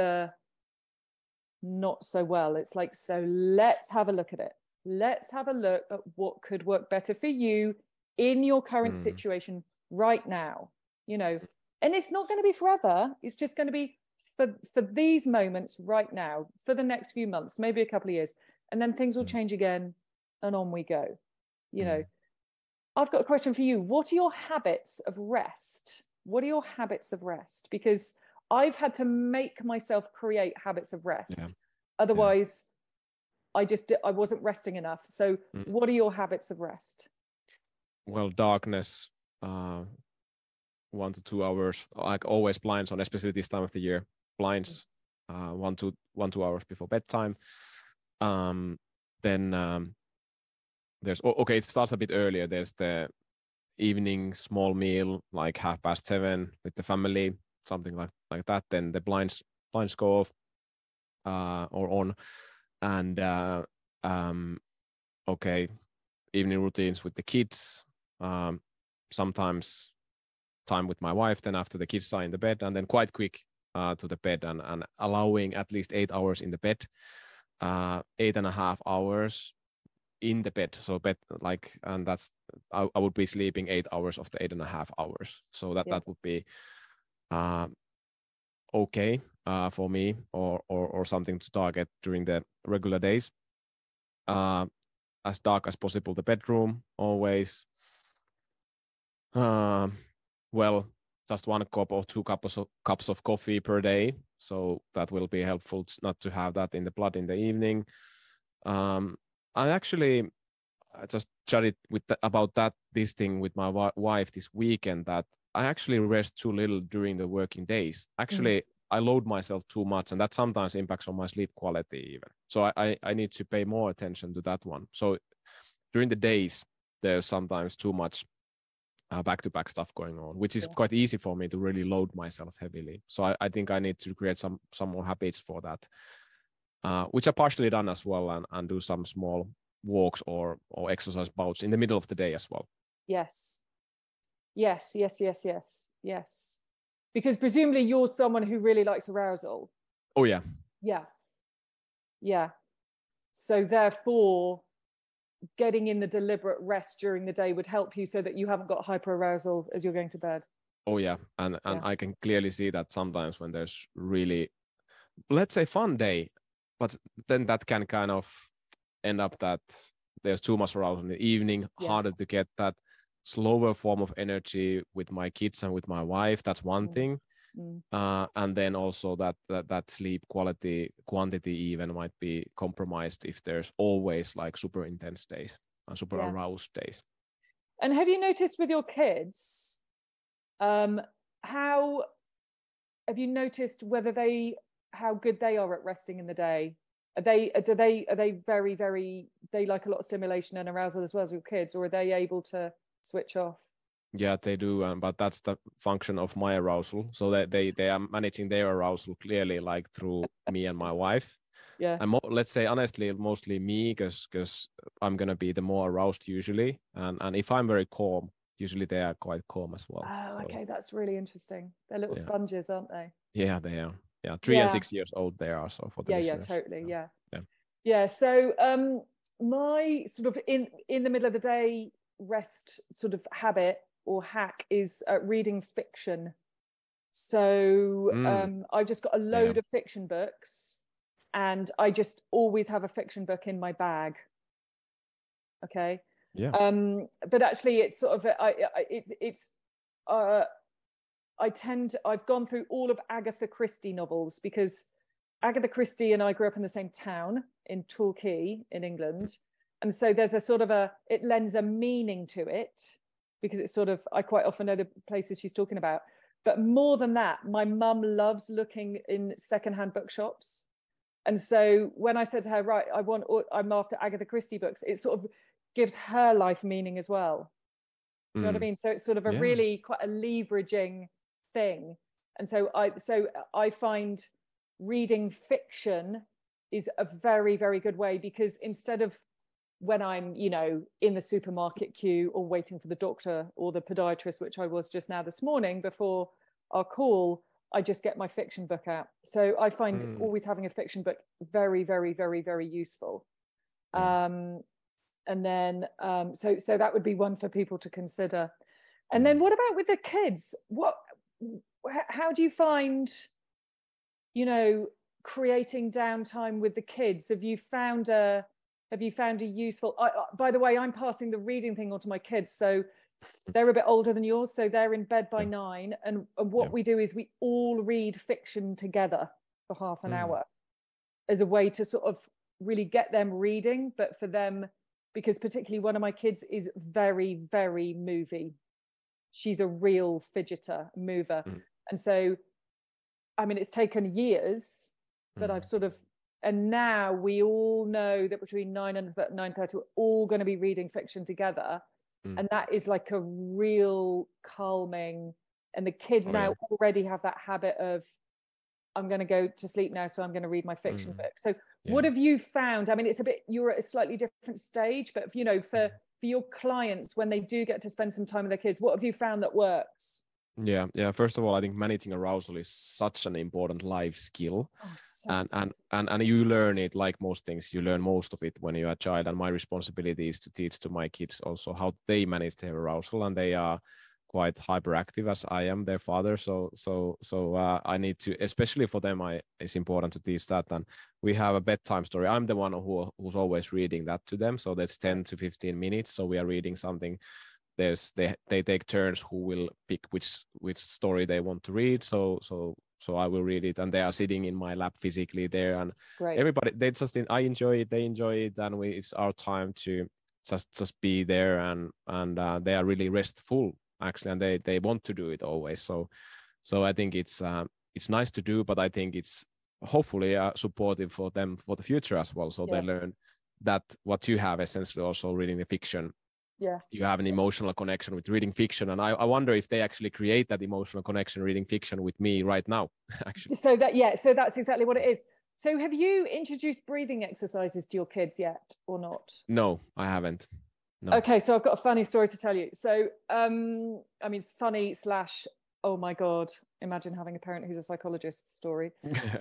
not so well. It's like, so let's have a look at it. Let's have a look at what could work better for you in your current situation right now, and it's not going to be forever. It's just going to be for these moments right now, for the next few months, maybe a couple of years, and then things will change again, and on we go. I've got a question for you. What are your habits of rest? Because I've had to make myself create habits of rest. Otherwise, I wasn't resting enough. So what are your habits of rest? Well, darkness, 1 to 2 hours, like always blinds on, especially this time of the year, blinds 1 to 2 hours before bedtime. Then there's it starts a bit earlier. There's the evening small meal, like 7:30 with the family, something like that. Then the blinds go off or on, and evening routines with the kids. Sometimes time with my wife. Then after the kids are in the bed, and then quite quick to the bed, and allowing at least 8 hours in the bed, 8.5 hours in the bed. So bed, and that's I would be sleeping 8 hours of the 8.5 hours. So that would be okay for me, or something to target during the regular days. As dark as possible the bedroom, always. Just 1 cup or 2 cups of coffee per day. So that will be helpful not to have that in the blood in the evening. I actually just chatted about this thing with my wife this weekend, that I actually rest too little during the working days. Actually, I load myself too much, and that sometimes impacts on my sleep quality even. So I need to pay more attention to that one. So during the days, there's sometimes too much back-to-back stuff going on, which is Yeah. quite easy for me to really load myself heavily. So I think I need to create some more habits for that, which I partially done as well, and do some small walks or exercise bouts in the middle of the day as well. Yes. Yes, yes, yes, yes, yes. Because presumably you're someone who really likes arousal. Oh, yeah. Yeah. Yeah. So therefore, getting in the deliberate rest during the day would help you so that you haven't got hyperarousal as you're going to bed. Oh, yeah. And Yeah. I can clearly see that sometimes when there's really, let's say, fun day, but then that can kind of end up that there's too much arousal in the evening, Yeah. harder to get that slower form of energy with my kids and with my wife. That's one thing. And then also that sleep quantity even might be compromised if there's always like super intense days and super aroused days. And have you noticed with your kids, how have you noticed how good they are at resting in the day? Are they very, very, they like a lot of stimulation and arousal as well as your kids, or are they able to switch off? Yeah, they do, but that's the function of my arousal. So that they are managing their arousal clearly, like through me and my wife. Yeah. And let's say honestly, mostly me, because I'm gonna be the more aroused usually, and if I'm very calm, usually they are quite calm as well. Oh, so, okay, that's really interesting. They're little sponges, aren't they? Yeah, they are. Yeah, 3 and 6 years old they are. So for the listeners. Totally. Yeah. Yeah. So my sort of in the middle of the day rest sort of habit or hack is reading fiction. So I've just got a load of fiction books, and I just always have a fiction book in my bag. Okay. Yeah. But actually, it's sort of I've gone through all of Agatha Christie novels, because Agatha Christie and I grew up in the same town in Torquay in England. And so there's a sort of it lends a meaning to it, because it's sort of, I quite often know the places she's talking about. But more than that, my mum loves looking in secondhand bookshops. And so when I said to her, right, I'm after Agatha Christie books, it sort of gives her life meaning as well. Do you know what I mean? So it's sort of a really quite a leveraging thing. And so I find reading fiction is a very, very good way, because instead of when I'm, in the supermarket queue or waiting for the doctor or the podiatrist, which I was just now this morning before our call, I just get my fiction book out. So I find always having a fiction book very, very, very, very useful. And then, so that would be one for people to consider. And then what about with the kids? How do you find, creating downtime with the kids? Have you found a useful, by the way, I'm passing the reading thing on to my kids. So they're a bit older than yours. So they're in bed by 9. And what we do is we all read fiction together for half an hour as a way to sort of really get them reading. But for them, because particularly one of my kids is very, very movie. She's a real fidgeter, mover. And so, I mean, it's taken years, but I've sort of, and now we all know that between 9 and 9:30, we're all going to be reading fiction together. And that is like a real calming. And the kids now already have that habit of, I'm going to go to sleep now, so I'm going to read my fiction book. So what have you found? I mean, you're at a slightly different stage, but for your clients, when they do get to spend some time with their kids, what have you found that works? Yeah. First of all, I think managing arousal is such an important life skill. And you learn it, like most things, you learn most of it when you're a child. And my responsibility is to teach to my kids also how they manage their arousal, and they are quite hyperactive as I am, their father. So I need to, especially for them, it's important to teach that. And we have a bedtime story. I'm the one who's always reading that to them. So that's 10 to 15 minutes. So we are reading something. They take turns who will pick which story they want to read. So I will read it, and they are sitting in my lap physically there, and everybody, I enjoy it, they enjoy it, and it's our time to just be there, and they are really restful actually, and they want to do it always. So I think it's nice to do, but I think it's hopefully supportive for them for the future as well. So they learn that what you have essentially also reading the fiction you have an emotional connection with reading fiction. And I wonder if they actually create that emotional connection reading fiction with me right now, actually. So that's exactly what it is. So have you introduced breathing exercises to your kids yet or not? No, I haven't. No. Okay, so I've got a funny story to tell you. So, I mean, it's funny / oh my God, imagine having a parent who's a psychologist story.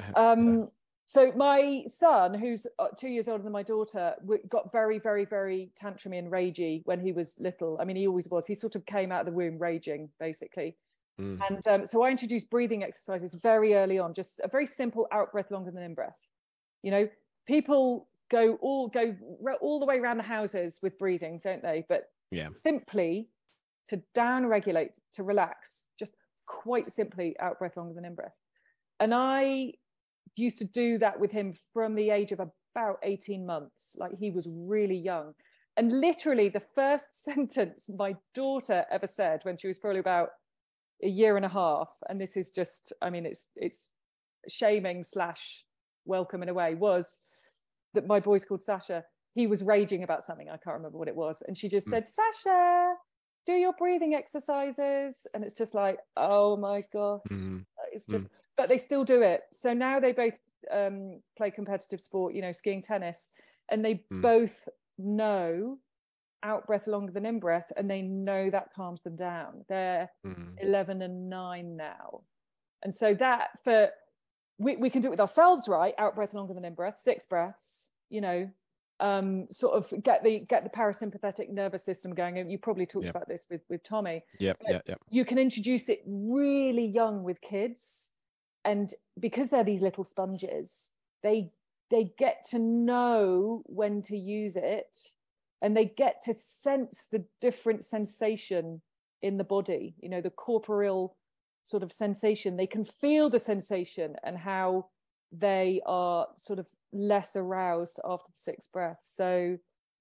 So my son, who's 2 years older than my daughter, got very, very, very tantrumy and ragey when he was little. I mean, he always was. He sort of came out of the womb raging, basically. And so I introduced breathing exercises very early on, just a very simple out breath longer than in breath. You know, people go all the way around the houses with breathing, don't they? But simply to down regulate, to relax, just quite simply out breath longer than in breath. And I used to do that with him from the age of about 18 months, like he was really young. And literally the first sentence my daughter ever said when she was probably about a year and a half, and this is just, I mean, it's shaming / welcome in a way, was that my boy's called Sasha. He was raging about something. I can't remember what it was. And she just said, Sasha, do your breathing exercises. And it's just like, oh my God. It's just, but they still do it. So now they both play competitive sport, you know, skiing, tennis, and they both know out breath longer than in breath, and they know that calms them down. They're 11 and 9 now. And so that we can do it with ourselves, right? Out breath longer than in breath, 6 breaths, you know, sort of get the parasympathetic nervous system going. And you probably talked about this with Tommy. You can introduce it really young with kids, and because they're these little sponges, they get to know when to use it, and they get to sense the different sensation in the body, you know, the corporeal sort of sensation. They can feel the sensation and how they are sort of less aroused after the 6 breaths. So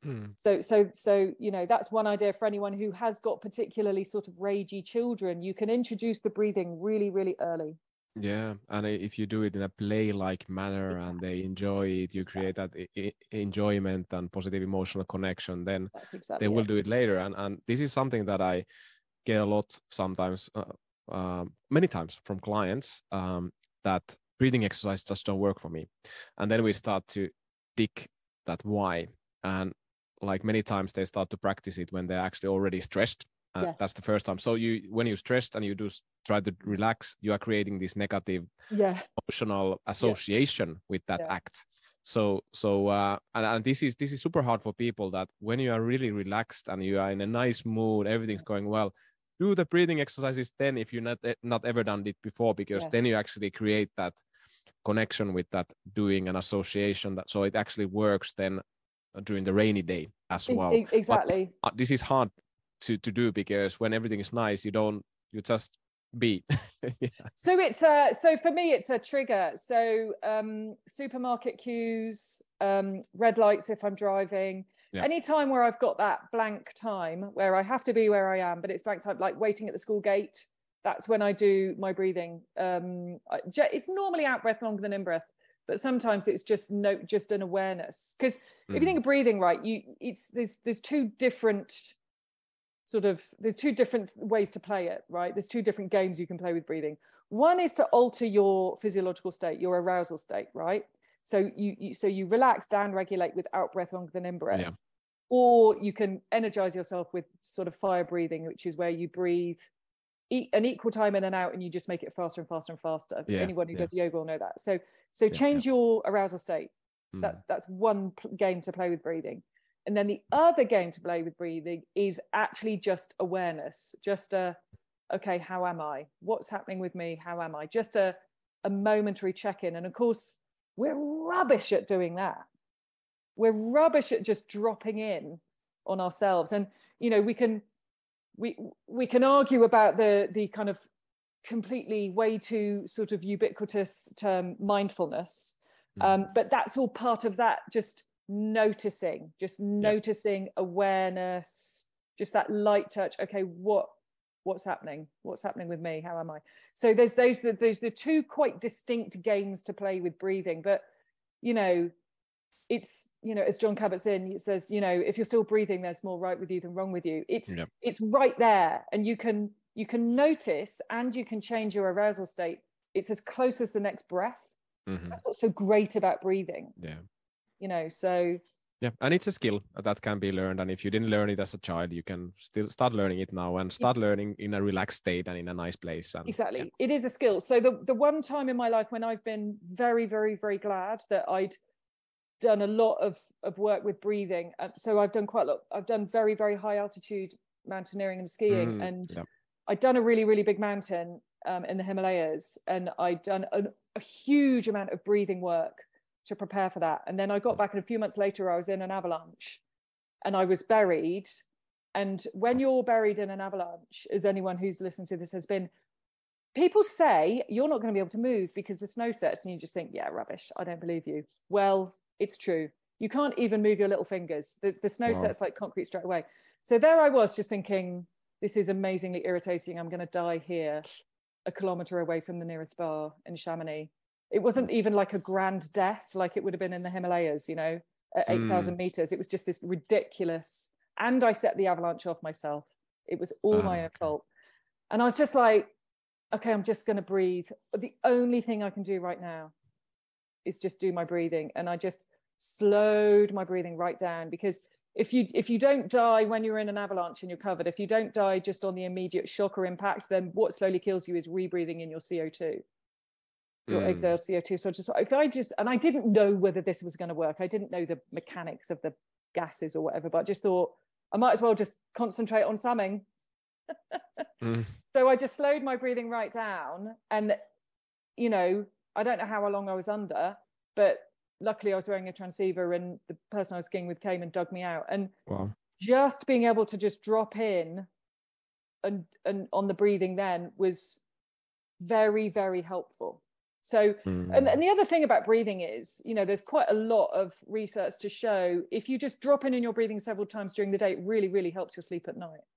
you know, that's one idea for anyone who has got particularly sort of ragey children. You can introduce the breathing really, really early. Yeah, and if you do it in a play-like manner and they enjoy it, you create that enjoyment and positive emotional connection, then they will do it later. And this is something that I get a lot sometimes, many times from clients, that breathing exercises just don't work for me. And then we start to dig that why. And like many times they start to practice it when they're actually already stressed. That's the first time. So when you're stressed and you do try to relax, you are creating this negative emotional association with that act. So and this is super hard for people, that when you are really relaxed and you are in a nice mood, everything's going well, do the breathing exercises then if you're not ever done it before, because then you actually create that connection with that doing an association, that so it actually works then during the rainy day as well. Exactly. But this is hard to do, because when everything is nice, you just be. So it's so for me it's a trigger. So supermarket queues, red lights if I'm driving, any time where I've got that blank time where I have to be where I am, but it's blank time, like waiting at the school gate, that's when I do my breathing. It's normally out breath longer than in breath, but sometimes it's just an awareness, because if you think of breathing, right, there's two different ways to play it, right? There's 2 different games you can play with breathing. One is to alter your physiological state, your arousal state, right? So you relax, down regulate with out breath longer than in breath. Or you can energize yourself with sort of fire breathing, which is where you breathe an equal time in and out, and you just make it faster and faster and faster. Anyone who does yoga will know that. So change your arousal state. That's one game to play with breathing. And then the other game to play with breathing is actually just awareness, just okay, how am I? What's happening with me? How am I? Just a momentary check-in. And of course, we're rubbish at doing that. We're rubbish at just dropping in on ourselves. And, you know, we can argue about the kind of completely way too sort of ubiquitous term mindfulness. But that's all part of that, just noticing awareness, just that light touch. Okay, what's happening with me? How am I? So there's the 2 quite distinct games to play with breathing, but you know, it's as John Kabat-Zinn, it says, if you're still breathing, there's more right with you than wrong with you. It's right there, and you can notice, and you can change your arousal state. It's as close as the next breath. That's what's so great about breathing. So and it's a skill that can be learned, and if you didn't learn it as a child, you can still start learning it now, and start learning in a relaxed state and in a nice place. And, exactly, it is a skill. So the one time in my life when I've been very, very, very glad that I'd done a lot of work with breathing, so I've done quite a lot. I've done very, very high altitude mountaineering and skiing, and I'd done a really, really big mountain in the Himalayas, and I'd done a huge amount of breathing work to prepare for that. And then I got back, and a few months later I was in an avalanche and I was buried. And when you're buried in an avalanche, as anyone who's listened to this has been, people say you're not going to be able to move because the snow sets, and you just think, yeah, rubbish, I don't believe you. Well, it's true. You can't even move your little fingers. The snow sets like concrete straight away. So there I was, just thinking, this is amazingly irritating. I'm going to die here, a kilometre away from the nearest bar in Chamonix. It wasn't even like a grand death like it would have been in the Himalayas, at 8,000 meters. It was just this ridiculous, and I set the avalanche off myself. It was all my own fault. And I was just like, okay, I'm just going to breathe. The only thing I can do right now is just do my breathing. And I just slowed my breathing right down, because if you don't die when you're in an avalanche and you're covered, if you don't die just on the immediate shock or impact, then what slowly kills you is rebreathing in your CO2. Your exhaled CO2. So and I didn't know whether this was going to work. I didn't know the mechanics of the gases or whatever, but I just thought I might as well just concentrate on something. So I just slowed my breathing right down, and I don't know how long I was under, but luckily I was wearing a transceiver, and the person I was skiing with came and dug me out. And just being able to just drop in and on the breathing then was very, very helpful. So, and the other thing about breathing is, there's quite a lot of research to show if you just drop in your breathing several times during the day, it really, really helps your sleep at night.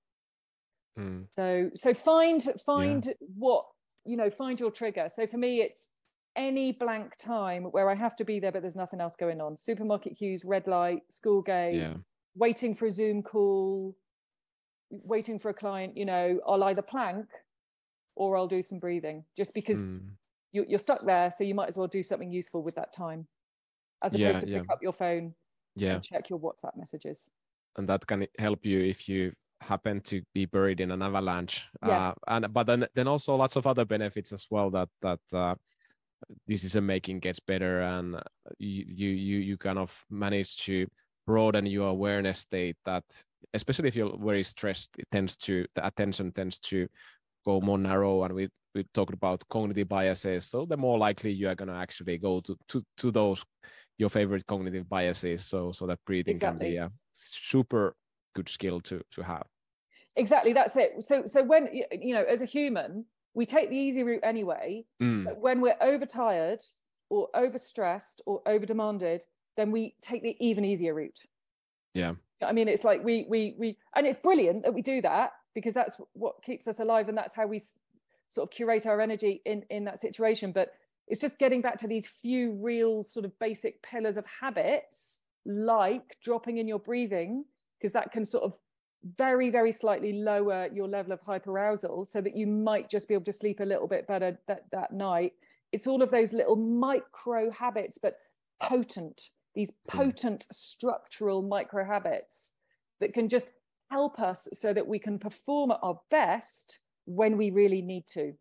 So find what, find your trigger. So for me, it's any blank time where I have to be there, but there's nothing else going on. Supermarket queues, red light, school gate, waiting for a Zoom call, waiting for a client, I'll either plank or I'll do some breathing, just because you're stuck there, so you might as well do something useful with that time, as opposed to pick up your phone and check your WhatsApp messages. And that can help you if you happen to be buried in an avalanche. But then also lots of other benefits as well, that decision making gets better, and you kind of manage to broaden your awareness state. That especially if you're very stressed, the attention tends to go more narrow, and we talked about cognitive biases, so the more likely you are going to actually go to those your favorite cognitive biases, so that breathing can be a super good skill to have. Exactly, that's it. So when as a human, we take the easy route anyway, but when we're overtired or overstressed or overdemanded, then we take the even easier route. I mean, it's like we and it's brilliant that we do that, because that's what keeps us alive, and that's how we sort of curate our energy in that situation. But it's just getting back to these few real sort of basic pillars of habits, like dropping in your breathing, because that can sort of very, very slightly lower your level of hyperarousal, so that you might just be able to sleep a little bit better that night. It's all of those little micro habits, but these potent structural micro habits that can just help us so that we can perform at our best when we really need to.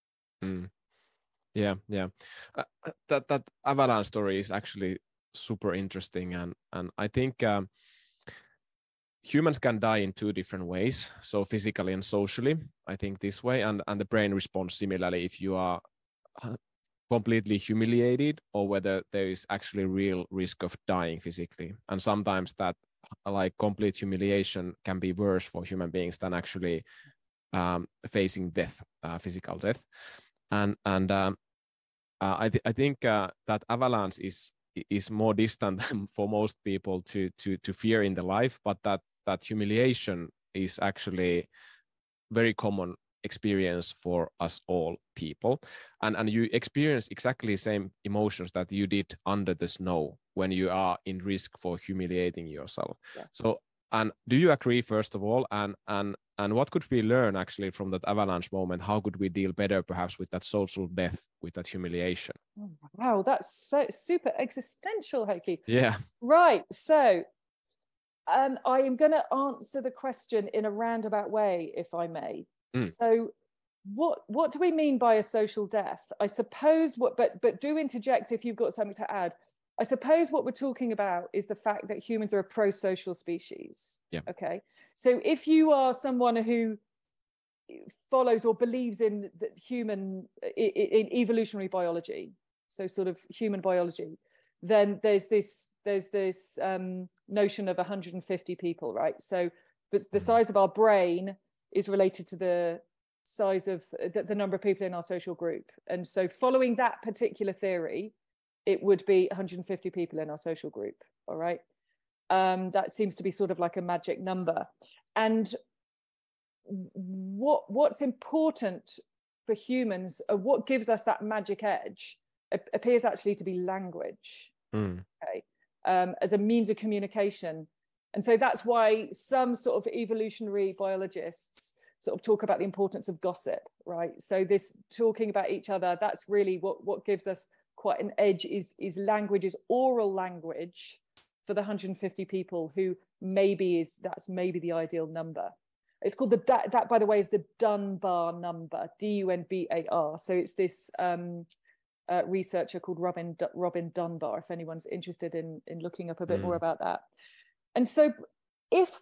That avalanche story is actually super interesting, and I think humans can die in two different ways, so physically and socially. I think this way, and the brain responds similarly if you are completely humiliated, or whether there is actually real risk of dying physically. And sometimes that like complete humiliation can be worse for human beings than actually facing death, physical death. And I think that avalanche is more distant for most people to fear in the life, but that humiliation is actually very common experience for us all people, and you experience exactly the same emotions that you did under the snow when you are in risk for humiliating yourself. Yeah. So, and do you agree, first of all, and what could we learn actually from that avalanche moment? How could we deal better perhaps with that social death, with that humiliation? Oh, wow, that's so super existential, Heikki. Yeah. Right. So I am going to answer the question in a roundabout way, if I may. So what do we mean by a social death? I suppose but do interject if you've got something to add. I suppose what we're talking about is the fact that humans are a pro-social species. Yeah. Okay. So if you are someone who follows or believes in the in evolutionary biology, so sort of human biology, then there's this notion of 150 people, right? So the size of our brain is related to the size of the number of people in our social group. And so following that particular theory, it would be 150 people in our social group. All right. That seems to be sort of like a magic number. And what's important for humans, what gives us that magic edge, appears actually to be language. Okay, as a means of communication. And so that's why some sort of evolutionary biologists sort of talk about the importance of gossip, right? So this talking about each other, that's really what gives us quite an edge, is language, is oral language for the 150 people who that's maybe the ideal number. It's called that by the way is the Dunbar number, Dunbar. So it's this researcher called Robin Dunbar, if anyone's interested in looking up a bit more about that. And so if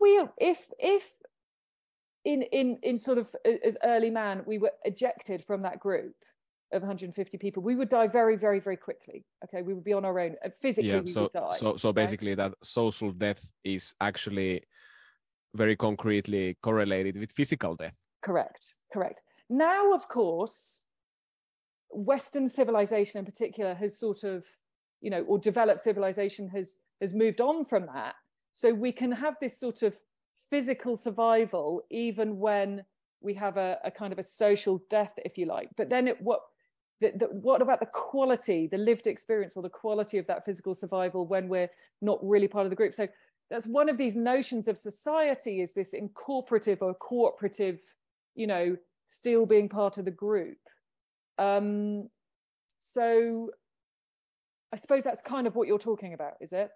in sort of as early man we were ejected from that group of 150 people, we would die very, very, very quickly. Okay, we would be on our own. Physically, we would die. So basically, that social death is actually very concretely correlated with physical death. Correct. Now, of course, Western civilization in particular has sort of, or developed civilization has moved on from that. So we can have this sort of physical survival even when we have a kind of a social death, if you like. But then what about the quality, the lived experience, or the quality of that physical survival when we're not really part of the group? So that's one of these notions of society, is this incorporative or cooperative, still being part of the group. So I suppose that's kind of what you're talking about, is it?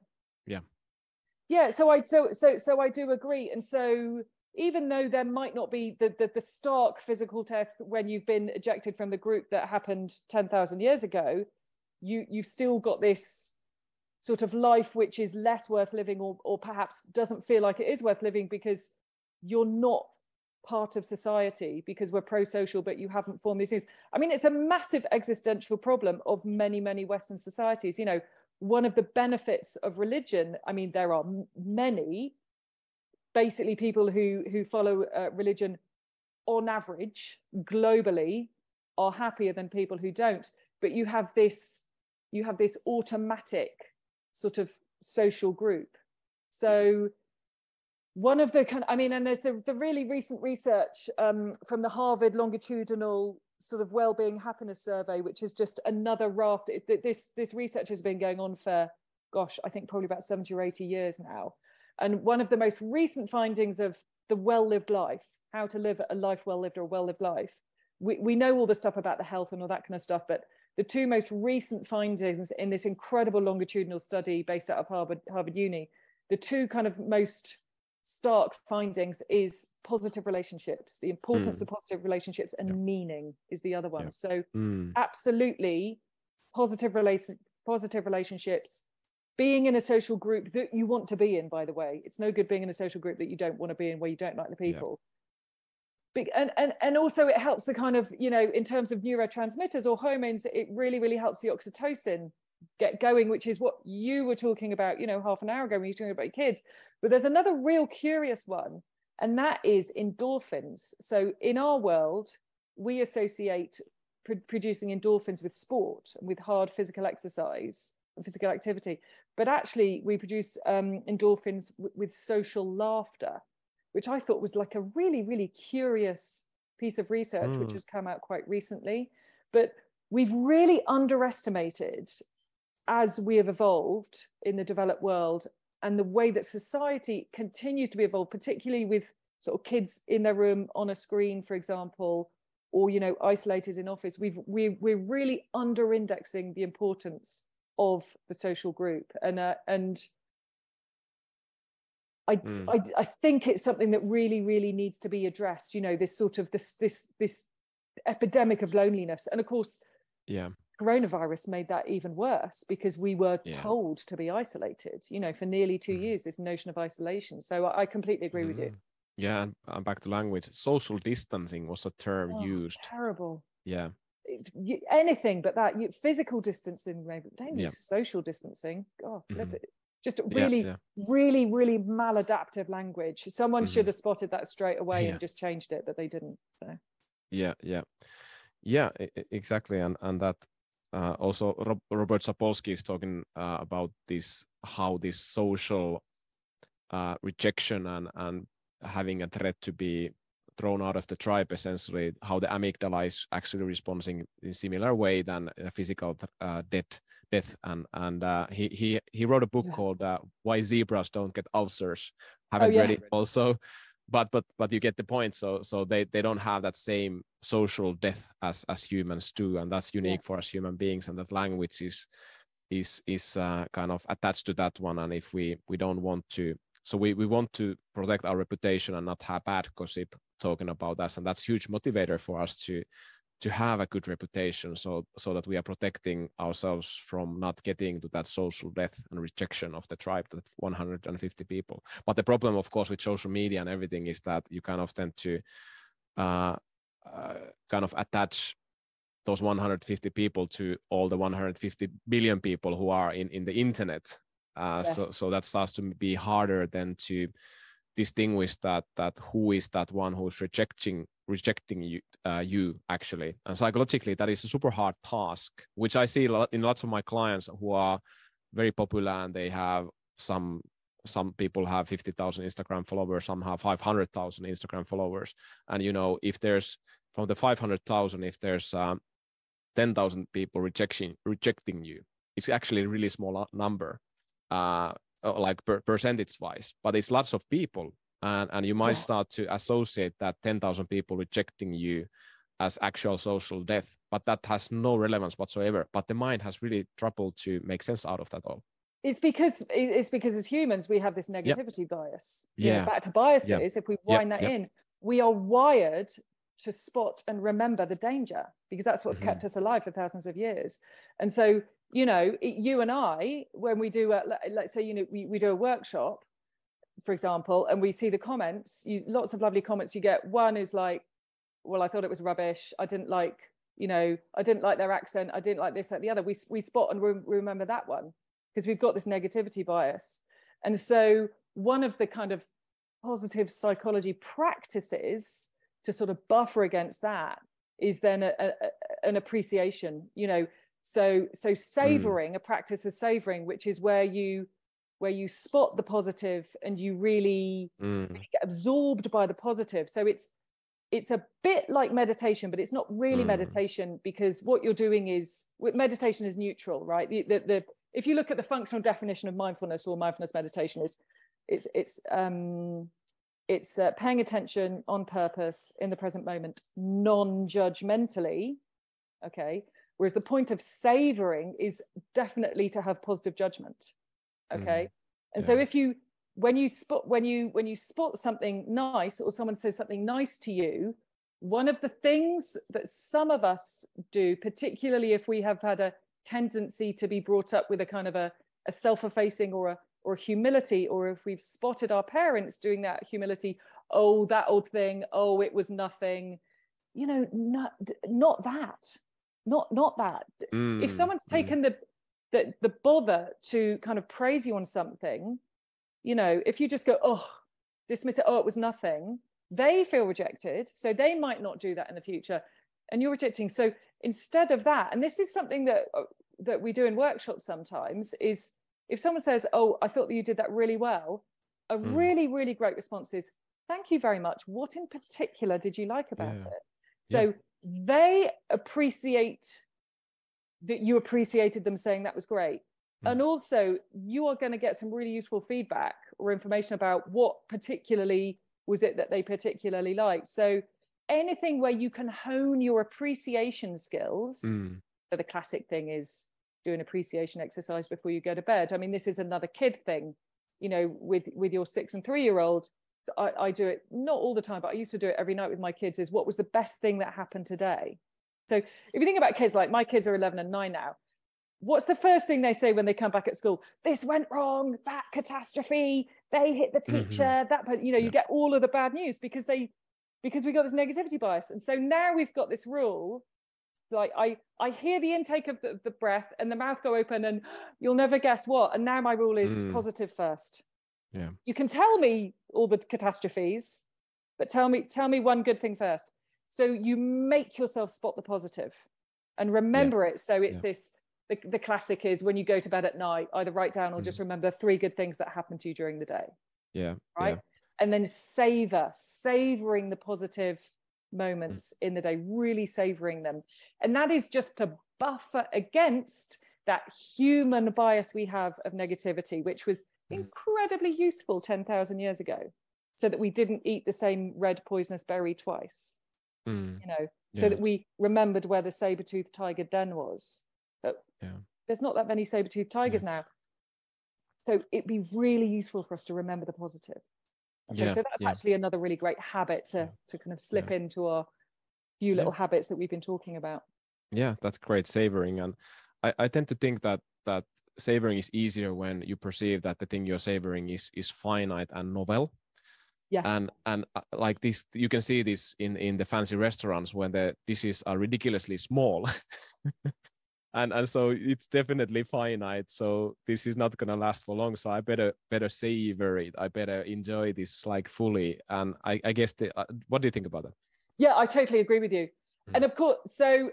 Yeah. So I do agree. And so even though there might not be the stark physical death when you've been ejected from the group that happened 10,000 years ago, you've still got this sort of life which is less worth living, or perhaps doesn't feel like it is worth living because you're not part of society, because we're pro-social, but you haven't formed these things. I mean, it's a massive existential problem of many, many Western societies. One of the benefits of religion, I mean, there are many, basically people who follow religion on average globally are happier than people who don't. But you have this automatic sort of social group. So one of the and there's the really recent research from the Harvard longitudinal sort of well-being happiness survey, which is just another raft. This research has been going on for, I think probably about 70 or 80 years now. And one of the most recent findings of the well-lived life, how to live a life well-lived or a well-lived life, we know all the stuff about the health and all that kind of stuff, but the two most recent findings in this incredible longitudinal study based out of Harvard Uni, the two kind of most stark findings is positive relationships, the importance of positive relationships, and meaning is the other one. So absolutely positive relationships, being in a social group that you want to be in, by the way. It's no good being in a social group that you don't want to be in, where you don't like the people. And also it helps the kind of, in terms of neurotransmitters or hormones, it really, really helps the oxytocin get going, which is what you were talking about, half an hour ago when you were talking about your kids. But there's another real curious one, and that is endorphins. So in our world, we associate producing endorphins with sport and with hard physical exercise and physical activity. But actually, we produce endorphins with social laughter, which I thought was like a really, really curious piece of research which has come out quite recently. But we've really underestimated, as we have evolved in the developed world, and the way that society continues to be evolved, particularly with sort of kids in their room on a screen, for example, or, you know, isolated in office. We're really under-indexing the importance of the social group, and I think it's something that really needs to be addressed. You know, this sort of this epidemic of loneliness, and of course, coronavirus made that even worse, because we were told to be isolated, you know, for nearly 2 years, this notion of isolation. So I completely agree with you. Yeah, and back to language, social distancing was a term used. Terrible. Yeah. Anything but that. Physical distancing, maybe. Don't use social distancing. God, flip it. Just really maladaptive language. Someone should have spotted that straight away and just changed it, but they didn't. So. Yeah, exactly. And that also Robert Sapolsky is talking about this, how this social rejection and having a threat to be thrown out of the tribe, essentially, how the amygdala is actually responding in a similar way than a physical death. And he wrote a book called Why Zebras Don't Get Ulcers. Haven't read it also, but you get the point. So they don't have that same social death as humans do, and that's unique for us human beings. And that language is kind of attached to that one. And if we don't want to, so we want to protect our reputation and not have bad gossip talking about us, and that's huge motivator for us to have a good reputation, so that we are protecting ourselves from not getting to that social death and rejection of the tribe, that 150 people. But the problem, of course, with social media and everything is that you kind of tend to kind of attach those 150 people to all the 150 billion people who are in the internet. So that starts to be harder than to distinguish that who is that one who's rejecting you actually. And psychologically, that is a super hard task, which I see in lots of my clients who are very popular, and they have some people have 50,000 Instagram followers, some have 500,000 Instagram followers. And, you know, if there's from the 500,000, if there's 10,000 people rejecting you, it's actually a really small number, like percentage wise, but it's lots of people. And you might start to associate that 10,000 people rejecting you as actual social death, but that has no relevance whatsoever. But the mind has really trouble to make sense out of that all. It's because as humans, we have this negativity bias. You know, back to biases, if we wind that in, we are wired to spot and remember the danger, because that's what's kept us alive for thousands of years. And so, you know, you and I, when we do, let's say, you know, we do a workshop, for example, and we see the comments, lots of lovely comments you get. One is like, well, I thought it was rubbish. I didn't like, you know, I didn't like their accent. I didn't like this, that, the other. We spot and remember that one, because we've got this negativity bias. And so one of the kind of positive psychology practices to sort of buffer against that is then an appreciation, you know. So savoring, a practice of savoring, which is where you spot the positive and you really get absorbed by the positive. So it's a bit like meditation, but it's not really meditation, because what you're doing is, meditation is neutral, right? The if you look at the functional definition of mindfulness or mindfulness meditation, it's paying attention on purpose in the present moment, non-judgmentally, okay? Whereas the point of savoring is definitely to have positive judgment, okay? And so when you spot something nice, or someone says something nice to you, one of the things that some of us do, particularly if we have had a tendency to be brought up with a kind of a self-effacing or humility, or if we've spotted our parents doing that humility, oh, that old thing, oh, it was nothing, you know, not that. If someone's taken the bother to kind of praise you on something, you know, if you just go, oh, dismiss it, oh, it was nothing, they feel rejected, so they might not do that in the future, and you're rejecting. So instead of that, and this is something that we do in workshops sometimes, is if someone says, oh, I thought that you did that really well, a really, really great response is, thank you very much. What in particular did you like about it? So they appreciate that you appreciated them saying that was great. And also you are going to get some really useful feedback or information about what particularly was it that they particularly liked. So anything where you can hone your appreciation skills. So the classic thing is do an appreciation exercise before you go to bed. I mean, this is another kid thing, you know, with your 6 and 3-year-old. So I do it not all the time, but I used to do it every night with my kids, is what was the best thing that happened today? So if you think about kids, like my kids are 11 and 9 now, what's the first thing they say when they come back at school? This went wrong, that catastrophe, they hit the teacher, that, but you know, you get all of the bad news because we got this negativity bias. And so now we've got this rule, like I hear the intake of the breath and the mouth go open and you'll never guess what. And now my rule is positive first. Yeah. You can tell me all the catastrophes, but tell me one good thing first. So you make yourself spot the positive and remember it. So it's this, the classic is when you go to bed at night, either write down or just remember 3 good things that happened to you during the day. Yeah. Right. Yeah. And then savoring the positive moments in the day, really savoring them. And that is just to buffer against that human bias we have of negativity, which was incredibly useful 10,000 years ago, so that we didn't eat the same red poisonous berry twice, you know, so that we remembered where the saber-toothed tiger den was. But there's not that many saber-toothed tigers now. So it'd be really useful for us to remember the positive. Okay, so that's actually another really great habit to kind of slip into our few little habits that we've been talking about. Yeah, that's great, savoring. And I tend to think that savoring is easier when you perceive that the thing you're savoring is finite and novel. Yeah. And like this, you can see this in the fancy restaurants when the dishes are ridiculously small. And so it's definitely finite. So this is not gonna last for long. So I better savor it. I better enjoy this like fully. And I guess what do you think about that? Yeah, I totally agree with you. And of course, so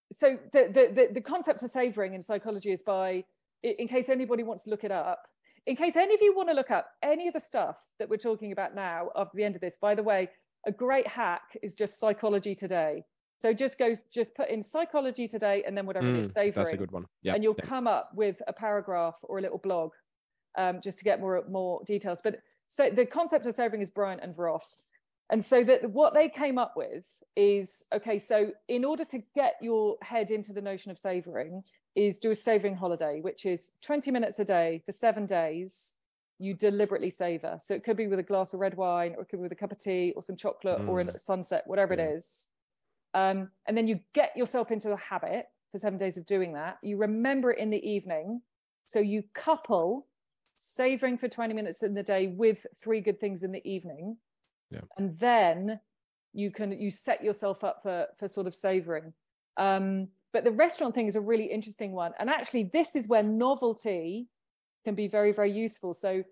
the concept of savoring in psychology is by, in case anybody wants to look it up, in case any of you want to look up any of the stuff that we're talking about now after the end of this, by the way, a great hack is just Psychology Today. So just put in Psychology Today and then whatever it is, savoring. That's a good one. Yeah. And you'll come up with a paragraph or a little blog just to get more details. But so the concept of savoring is Bryant and Vroff. And so that what they came up with is, okay, so in order to get your head into the notion of savoring is do a savoring holiday, which is 20 minutes a day for 7 days. You deliberately savor. So it could be with a glass of red wine, or it could be with a cup of tea or some chocolate or a sunset, whatever it is. And then you get yourself into a habit for 7 days of doing that. You remember it in the evening. So you couple savoring for 20 minutes in the day with 3 good things in the evening. Yeah. And then you set yourself up for sort of savoring. But the restaurant thing is a really interesting one. And actually, this is where novelty can be very, very useful. So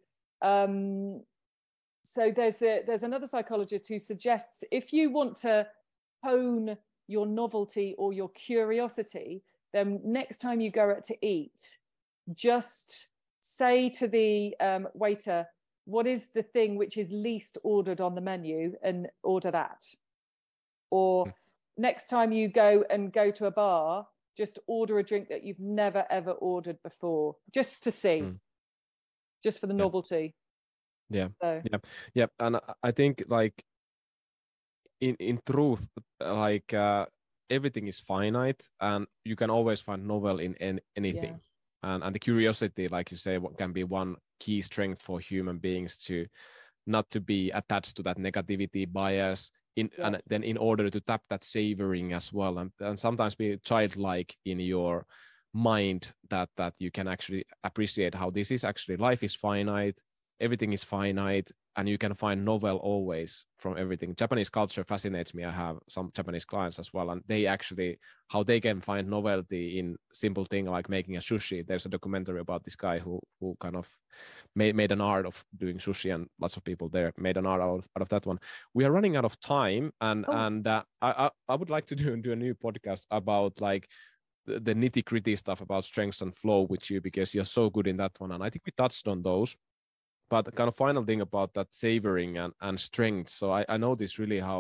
there's another psychologist who suggests if you want to hone your novelty or your curiosity, then next time you go out to eat, just say to the waiter, what is the thing which is least ordered on the menu, and order that. Or next time you go to a bar, just order a drink that you've never ever ordered before, just to see, just for the novelty. Yeah. And I think like in truth, like everything is finite, and you can always find novel in anything. And the curiosity, like you say, what can be one key strength for human beings to not to be attached to that negativity bias and then in order to tap that savoring as well, and sometimes be childlike in your mind that you can actually appreciate how this is actually, life is finite, everything is finite, and you can find novel always from everything. Japanese culture fascinates me. I have some Japanese clients as well, and they actually, how they can find novelty in simple thing like making a sushi. There's a documentary about this guy who kind of made an art of doing sushi, and lots of people there made an art out of that one. We are running out of time, and I would like to do a new podcast about like the nitty-gritty stuff about strengths and flow with you, because you're so good in that one, and I think we touched on those. But the kind of final thing about that savoring and strength. So I noticed really how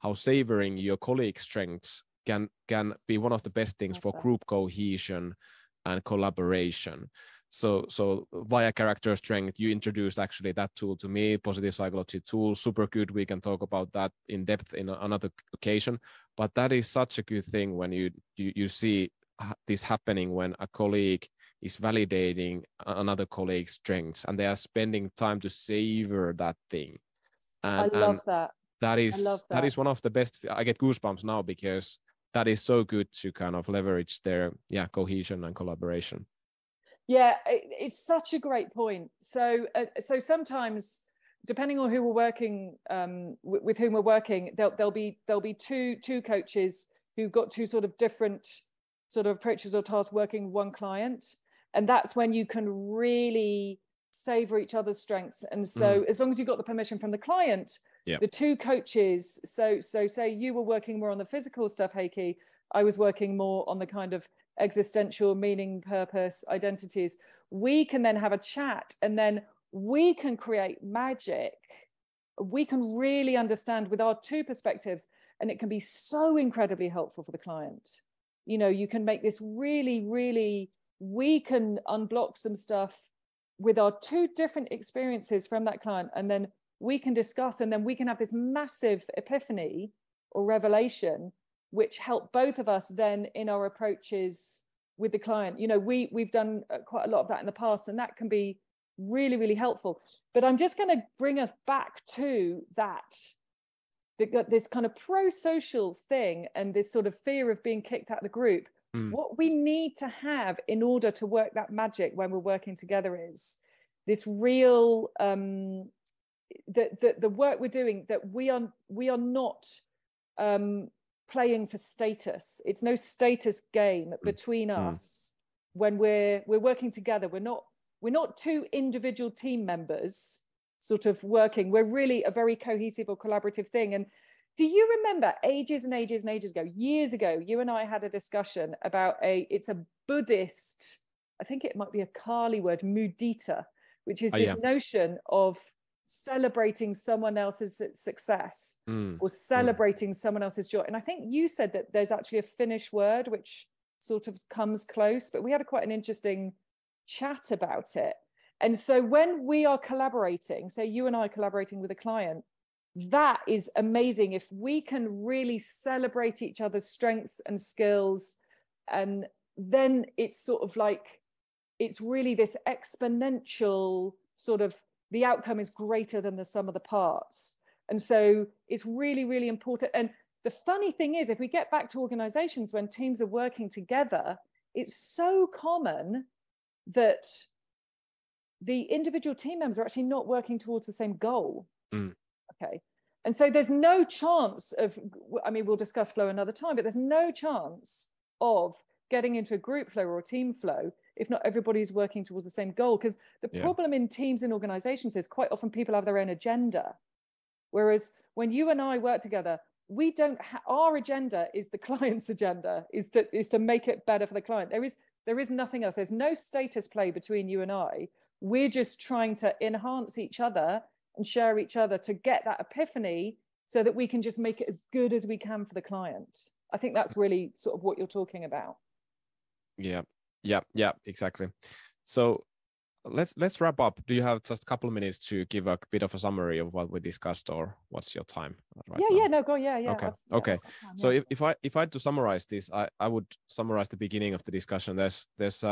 how savoring your colleagues' strengths can be one of the best things for group cohesion and collaboration. So via character strength, you introduced actually that tool to me, positive psychology tool, super good. We can talk about that in depth in another occasion. But that is such a good thing when you see this happening, when a colleague is validating another colleague's strengths and they are spending time to savor that thing. And I love that. That is one of the best. I get goosebumps now because that is so good to kind of leverage their cohesion and collaboration. Yeah, it's such a great point. So sometimes, depending on who we're working with, whom we're working, there'll be two coaches who've got two sort of different sort of approaches or tasks working with one client, and that's when you can really savor each other's strengths. And so, as long as you've got the permission from the client, the two coaches. So say you were working more on the physical stuff, Heikki. I was working more on the kind of existential meaning, purpose, identities. We can then have a chat, and then we can create magic. We can really understand with our two perspectives, and it can be so incredibly helpful for the client. You know, you can make this really, really, we can unblock some stuff with our two different experiences from that client, and then we can discuss, and then we can have this massive epiphany or revelation which help both of us then in our approaches with the client. You know, we've done quite a lot of that in the past, and that can be really, really helpful. But I'm just going to bring us back to that, this kind of pro-social thing and this sort of fear of being kicked out of the group. What we need to have in order to work that magic when we're working together is this real, the work we're doing, that we are not playing for status. It's no status game between us when we're working together. We're not two individual team members sort of working. We're really a very cohesive or collaborative thing. And do you remember ages and ages and ages ago, years ago, you and I had a discussion about it's a Buddhist, I think it might be a Kali word, mudita, which is this notion of celebrating someone else's success or celebrating someone else's joy. And I think you said that there's actually a Finnish word which sort of comes close, but we had quite an interesting chat about it. And so when we are collaborating, say you and I collaborating with a client, that is amazing if we can really celebrate each other's strengths and skills. And then it's sort of like, it's really this exponential sort of, the outcome is greater than the sum of the parts. And so it's really, really important. And the funny thing is, if we get back to organizations when teams are working together, it's so common that the individual team members are actually not working towards the same goal. Okay. And so there's no chance of, I mean, we'll discuss flow another time, but there's no chance of getting into a group flow or a team flow if not everybody's working towards the same goal. Because the problem in teams and organizations is quite often people have their own agenda. Whereas when you and I work together, we don't our agenda is the client's agenda, is to make it better for the client. There is nothing else. There's no status play between you and I. We're just trying to enhance each other and share each other to get that epiphany so that we can just make it as good as we can for the client. I think that's really sort of what you're talking about. Yeah, exactly. So let's wrap up. Do you have just a couple of minutes to give a bit of a summary of what we discussed, or what's your time right now? No, go. Yeah. Okay. So if I had to summarize this, I would summarize the beginning of the discussion. There's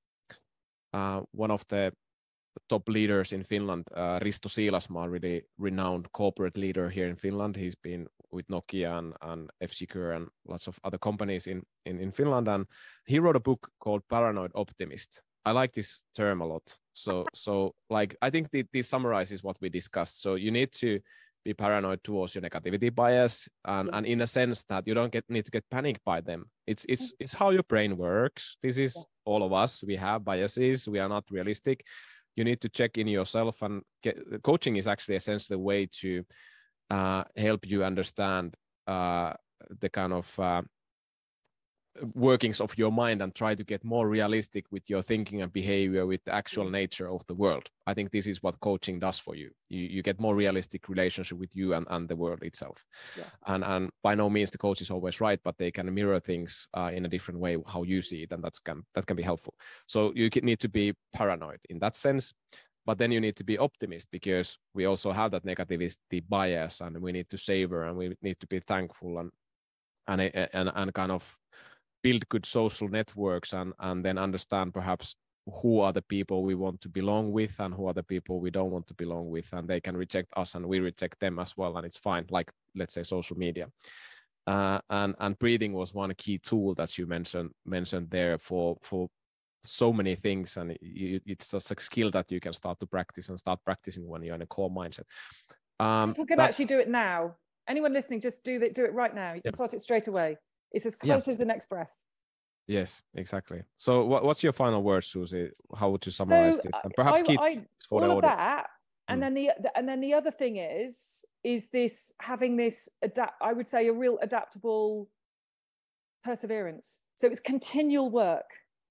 one of the top leaders in Finland, Risto Siilasmaa, really renowned corporate leader here in Finland. He's been with Nokia and F-Secure and lots of other companies in Finland. And he wrote a book called Paranoid Optimist. I like this term a lot. So like, I think this summarizes what we discussed. So you need to be paranoid towards your negativity bias, and in a sense that you don't need to get panicked by them. It's how your brain works. This is all of us. We have biases. We are not realistic. You need to check in yourself, and coaching is actually essentially a way to help you understand the kind of workings of your mind and try to get more realistic with your thinking and behavior with the actual nature of the world. I think this is what coaching does for you. You get more realistic relationship with you and the world itself. Yeah. And by no means the coach is always right, but they can mirror things in a different way how you see it, and that can be helpful. So you need to be paranoid in that sense. But then you need to be optimist, because we also have that negativity bias, and we need to savor, and we need to be thankful and kind of build good social networks, and then understand perhaps who are the people we want to belong with and who are the people we don't want to belong with, and they can reject us and we reject them as well, and it's fine. Like, let's say social media. And breathing was one key tool that you mentioned there for so many things, and it's just a skill that you can start to practice and start practicing when you're in a calm mindset. People can actually do it now. Anyone listening, just do it right now. You can start it straight away. It's as close as the next breath. Yes, exactly. So what's your final words, Susie? How would you summarize this? And perhaps for all of that, and then the other thing is this having this I would say a real adaptable perseverance. So it's continual work.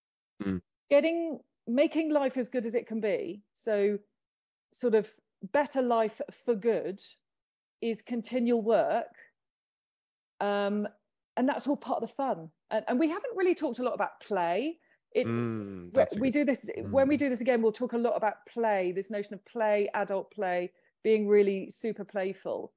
Making life as good as it can be. So sort of better life for good is continual work. And that's all part of the fun. And we haven't really talked a lot about play. We do this when we do this again, we'll talk a lot about play, this notion of play, adult play, being really super playful.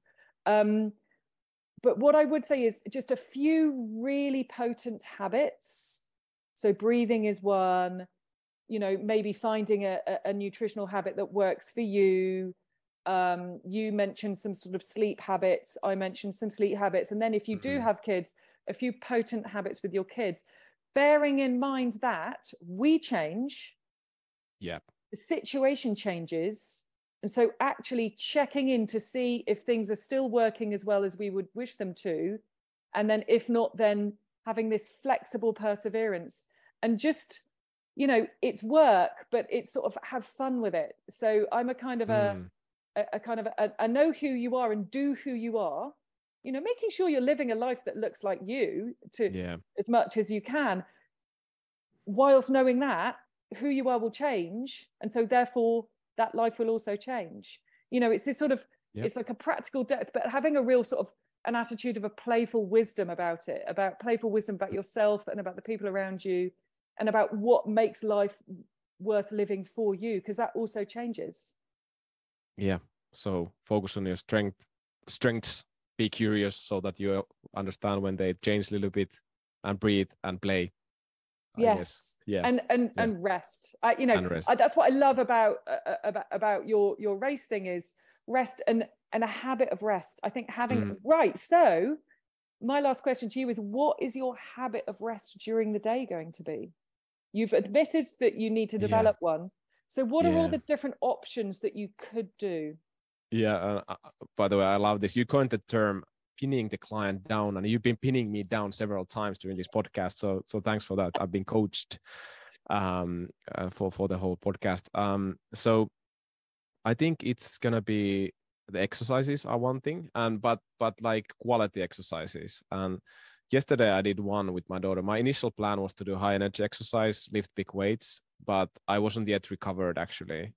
But what I would say is just a few really potent habits. So breathing is one, maybe finding a nutritional habit that works for you. You mentioned some sort of sleep habits. I mentioned some sleep habits. And then if you do have kids, a few potent habits with your kids, bearing in mind that we change. Yeah. The situation changes. And so actually checking in to see if things are still working as well as we would wish them to. And then if not, then having this flexible perseverance and just, it's work, but it's sort of have fun with it. So I'm a kind of I know who you are and do who you are, making sure you're living a life that looks like you as much as you can, whilst knowing that who you are will change. And so therefore that life will also change. It's this sort of, it's like a practical depth, but having a real sort of an attitude of a playful wisdom about it, about playful wisdom about yourself and about the people around you and about what makes life worth living for you, because that also changes. Yeah. So focus on your strengths, be curious so that you understand when they change a little bit, and breathe and play. Yes. Yeah. And rest. That's what I love about your race thing is rest and a habit of rest. I think having right. So my last question to you is, what is your habit of rest during the day going to be? You've admitted that you need to develop one. So what are all the different options that you could do? Yeah. By the way, I love this. You coined the term pinning the client down, and you've been pinning me down several times during this podcast. So thanks for that. I've been coached for the whole podcast. So I think it's gonna be the exercises are one thing, but like quality exercises. And yesterday I did one with my daughter. My initial plan was to do high energy exercise, lift big weights, but I wasn't yet recovered actually.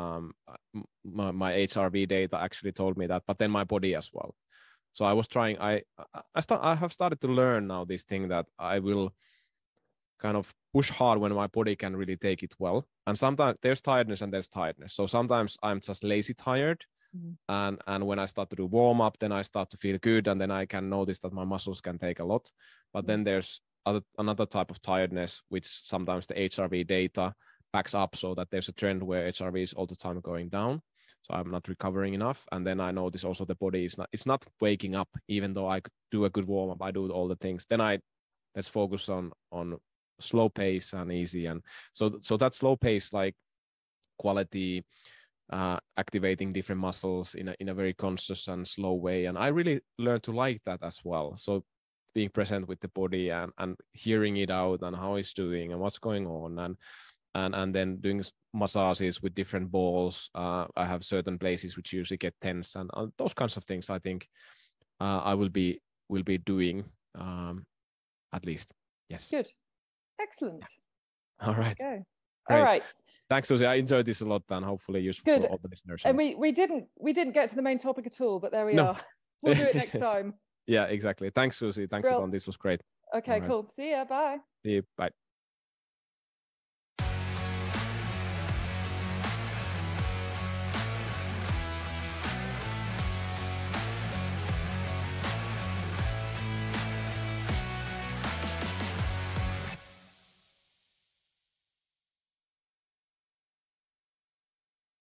My HRV data actually told me that, but then my body as well. So I was trying. I have started to learn now this thing that I will kind of push hard when my body can really take it well. And sometimes there's tiredness and there's tiredness. So sometimes I'm just lazy tired. And when I start to do warm up, then I start to feel good, and then I can notice that my muscles can take a lot. But then there's another type of tiredness, which sometimes the HRV data backs up, so that there's a trend where HRV is all the time going down. So I'm not recovering enough. And then I notice also the body it's not waking up, even though I could do a good warm up, I do all the things. Then let's focus on slow pace and easy. And so that slow pace, like quality, activating different muscles in a very conscious and slow way. And I really learned to like that as well. So being present with the body and hearing it out and how it's doing and what's going on, and then doing massages with different balls. I have certain places which usually get tense, and those kinds of things. I think I will be doing at least. Yes. Good. Excellent. All right. Go. Great. All right. Thanks, Susie. I enjoyed this a lot and hopefully useful Good. for all the listeners. And we didn't get to the main topic at all, but there we are. We'll do it next time. Yeah, exactly. Thanks, Susie. Thanks, Anton. This was great. Okay, cool. See ya. Bye. See you. Bye.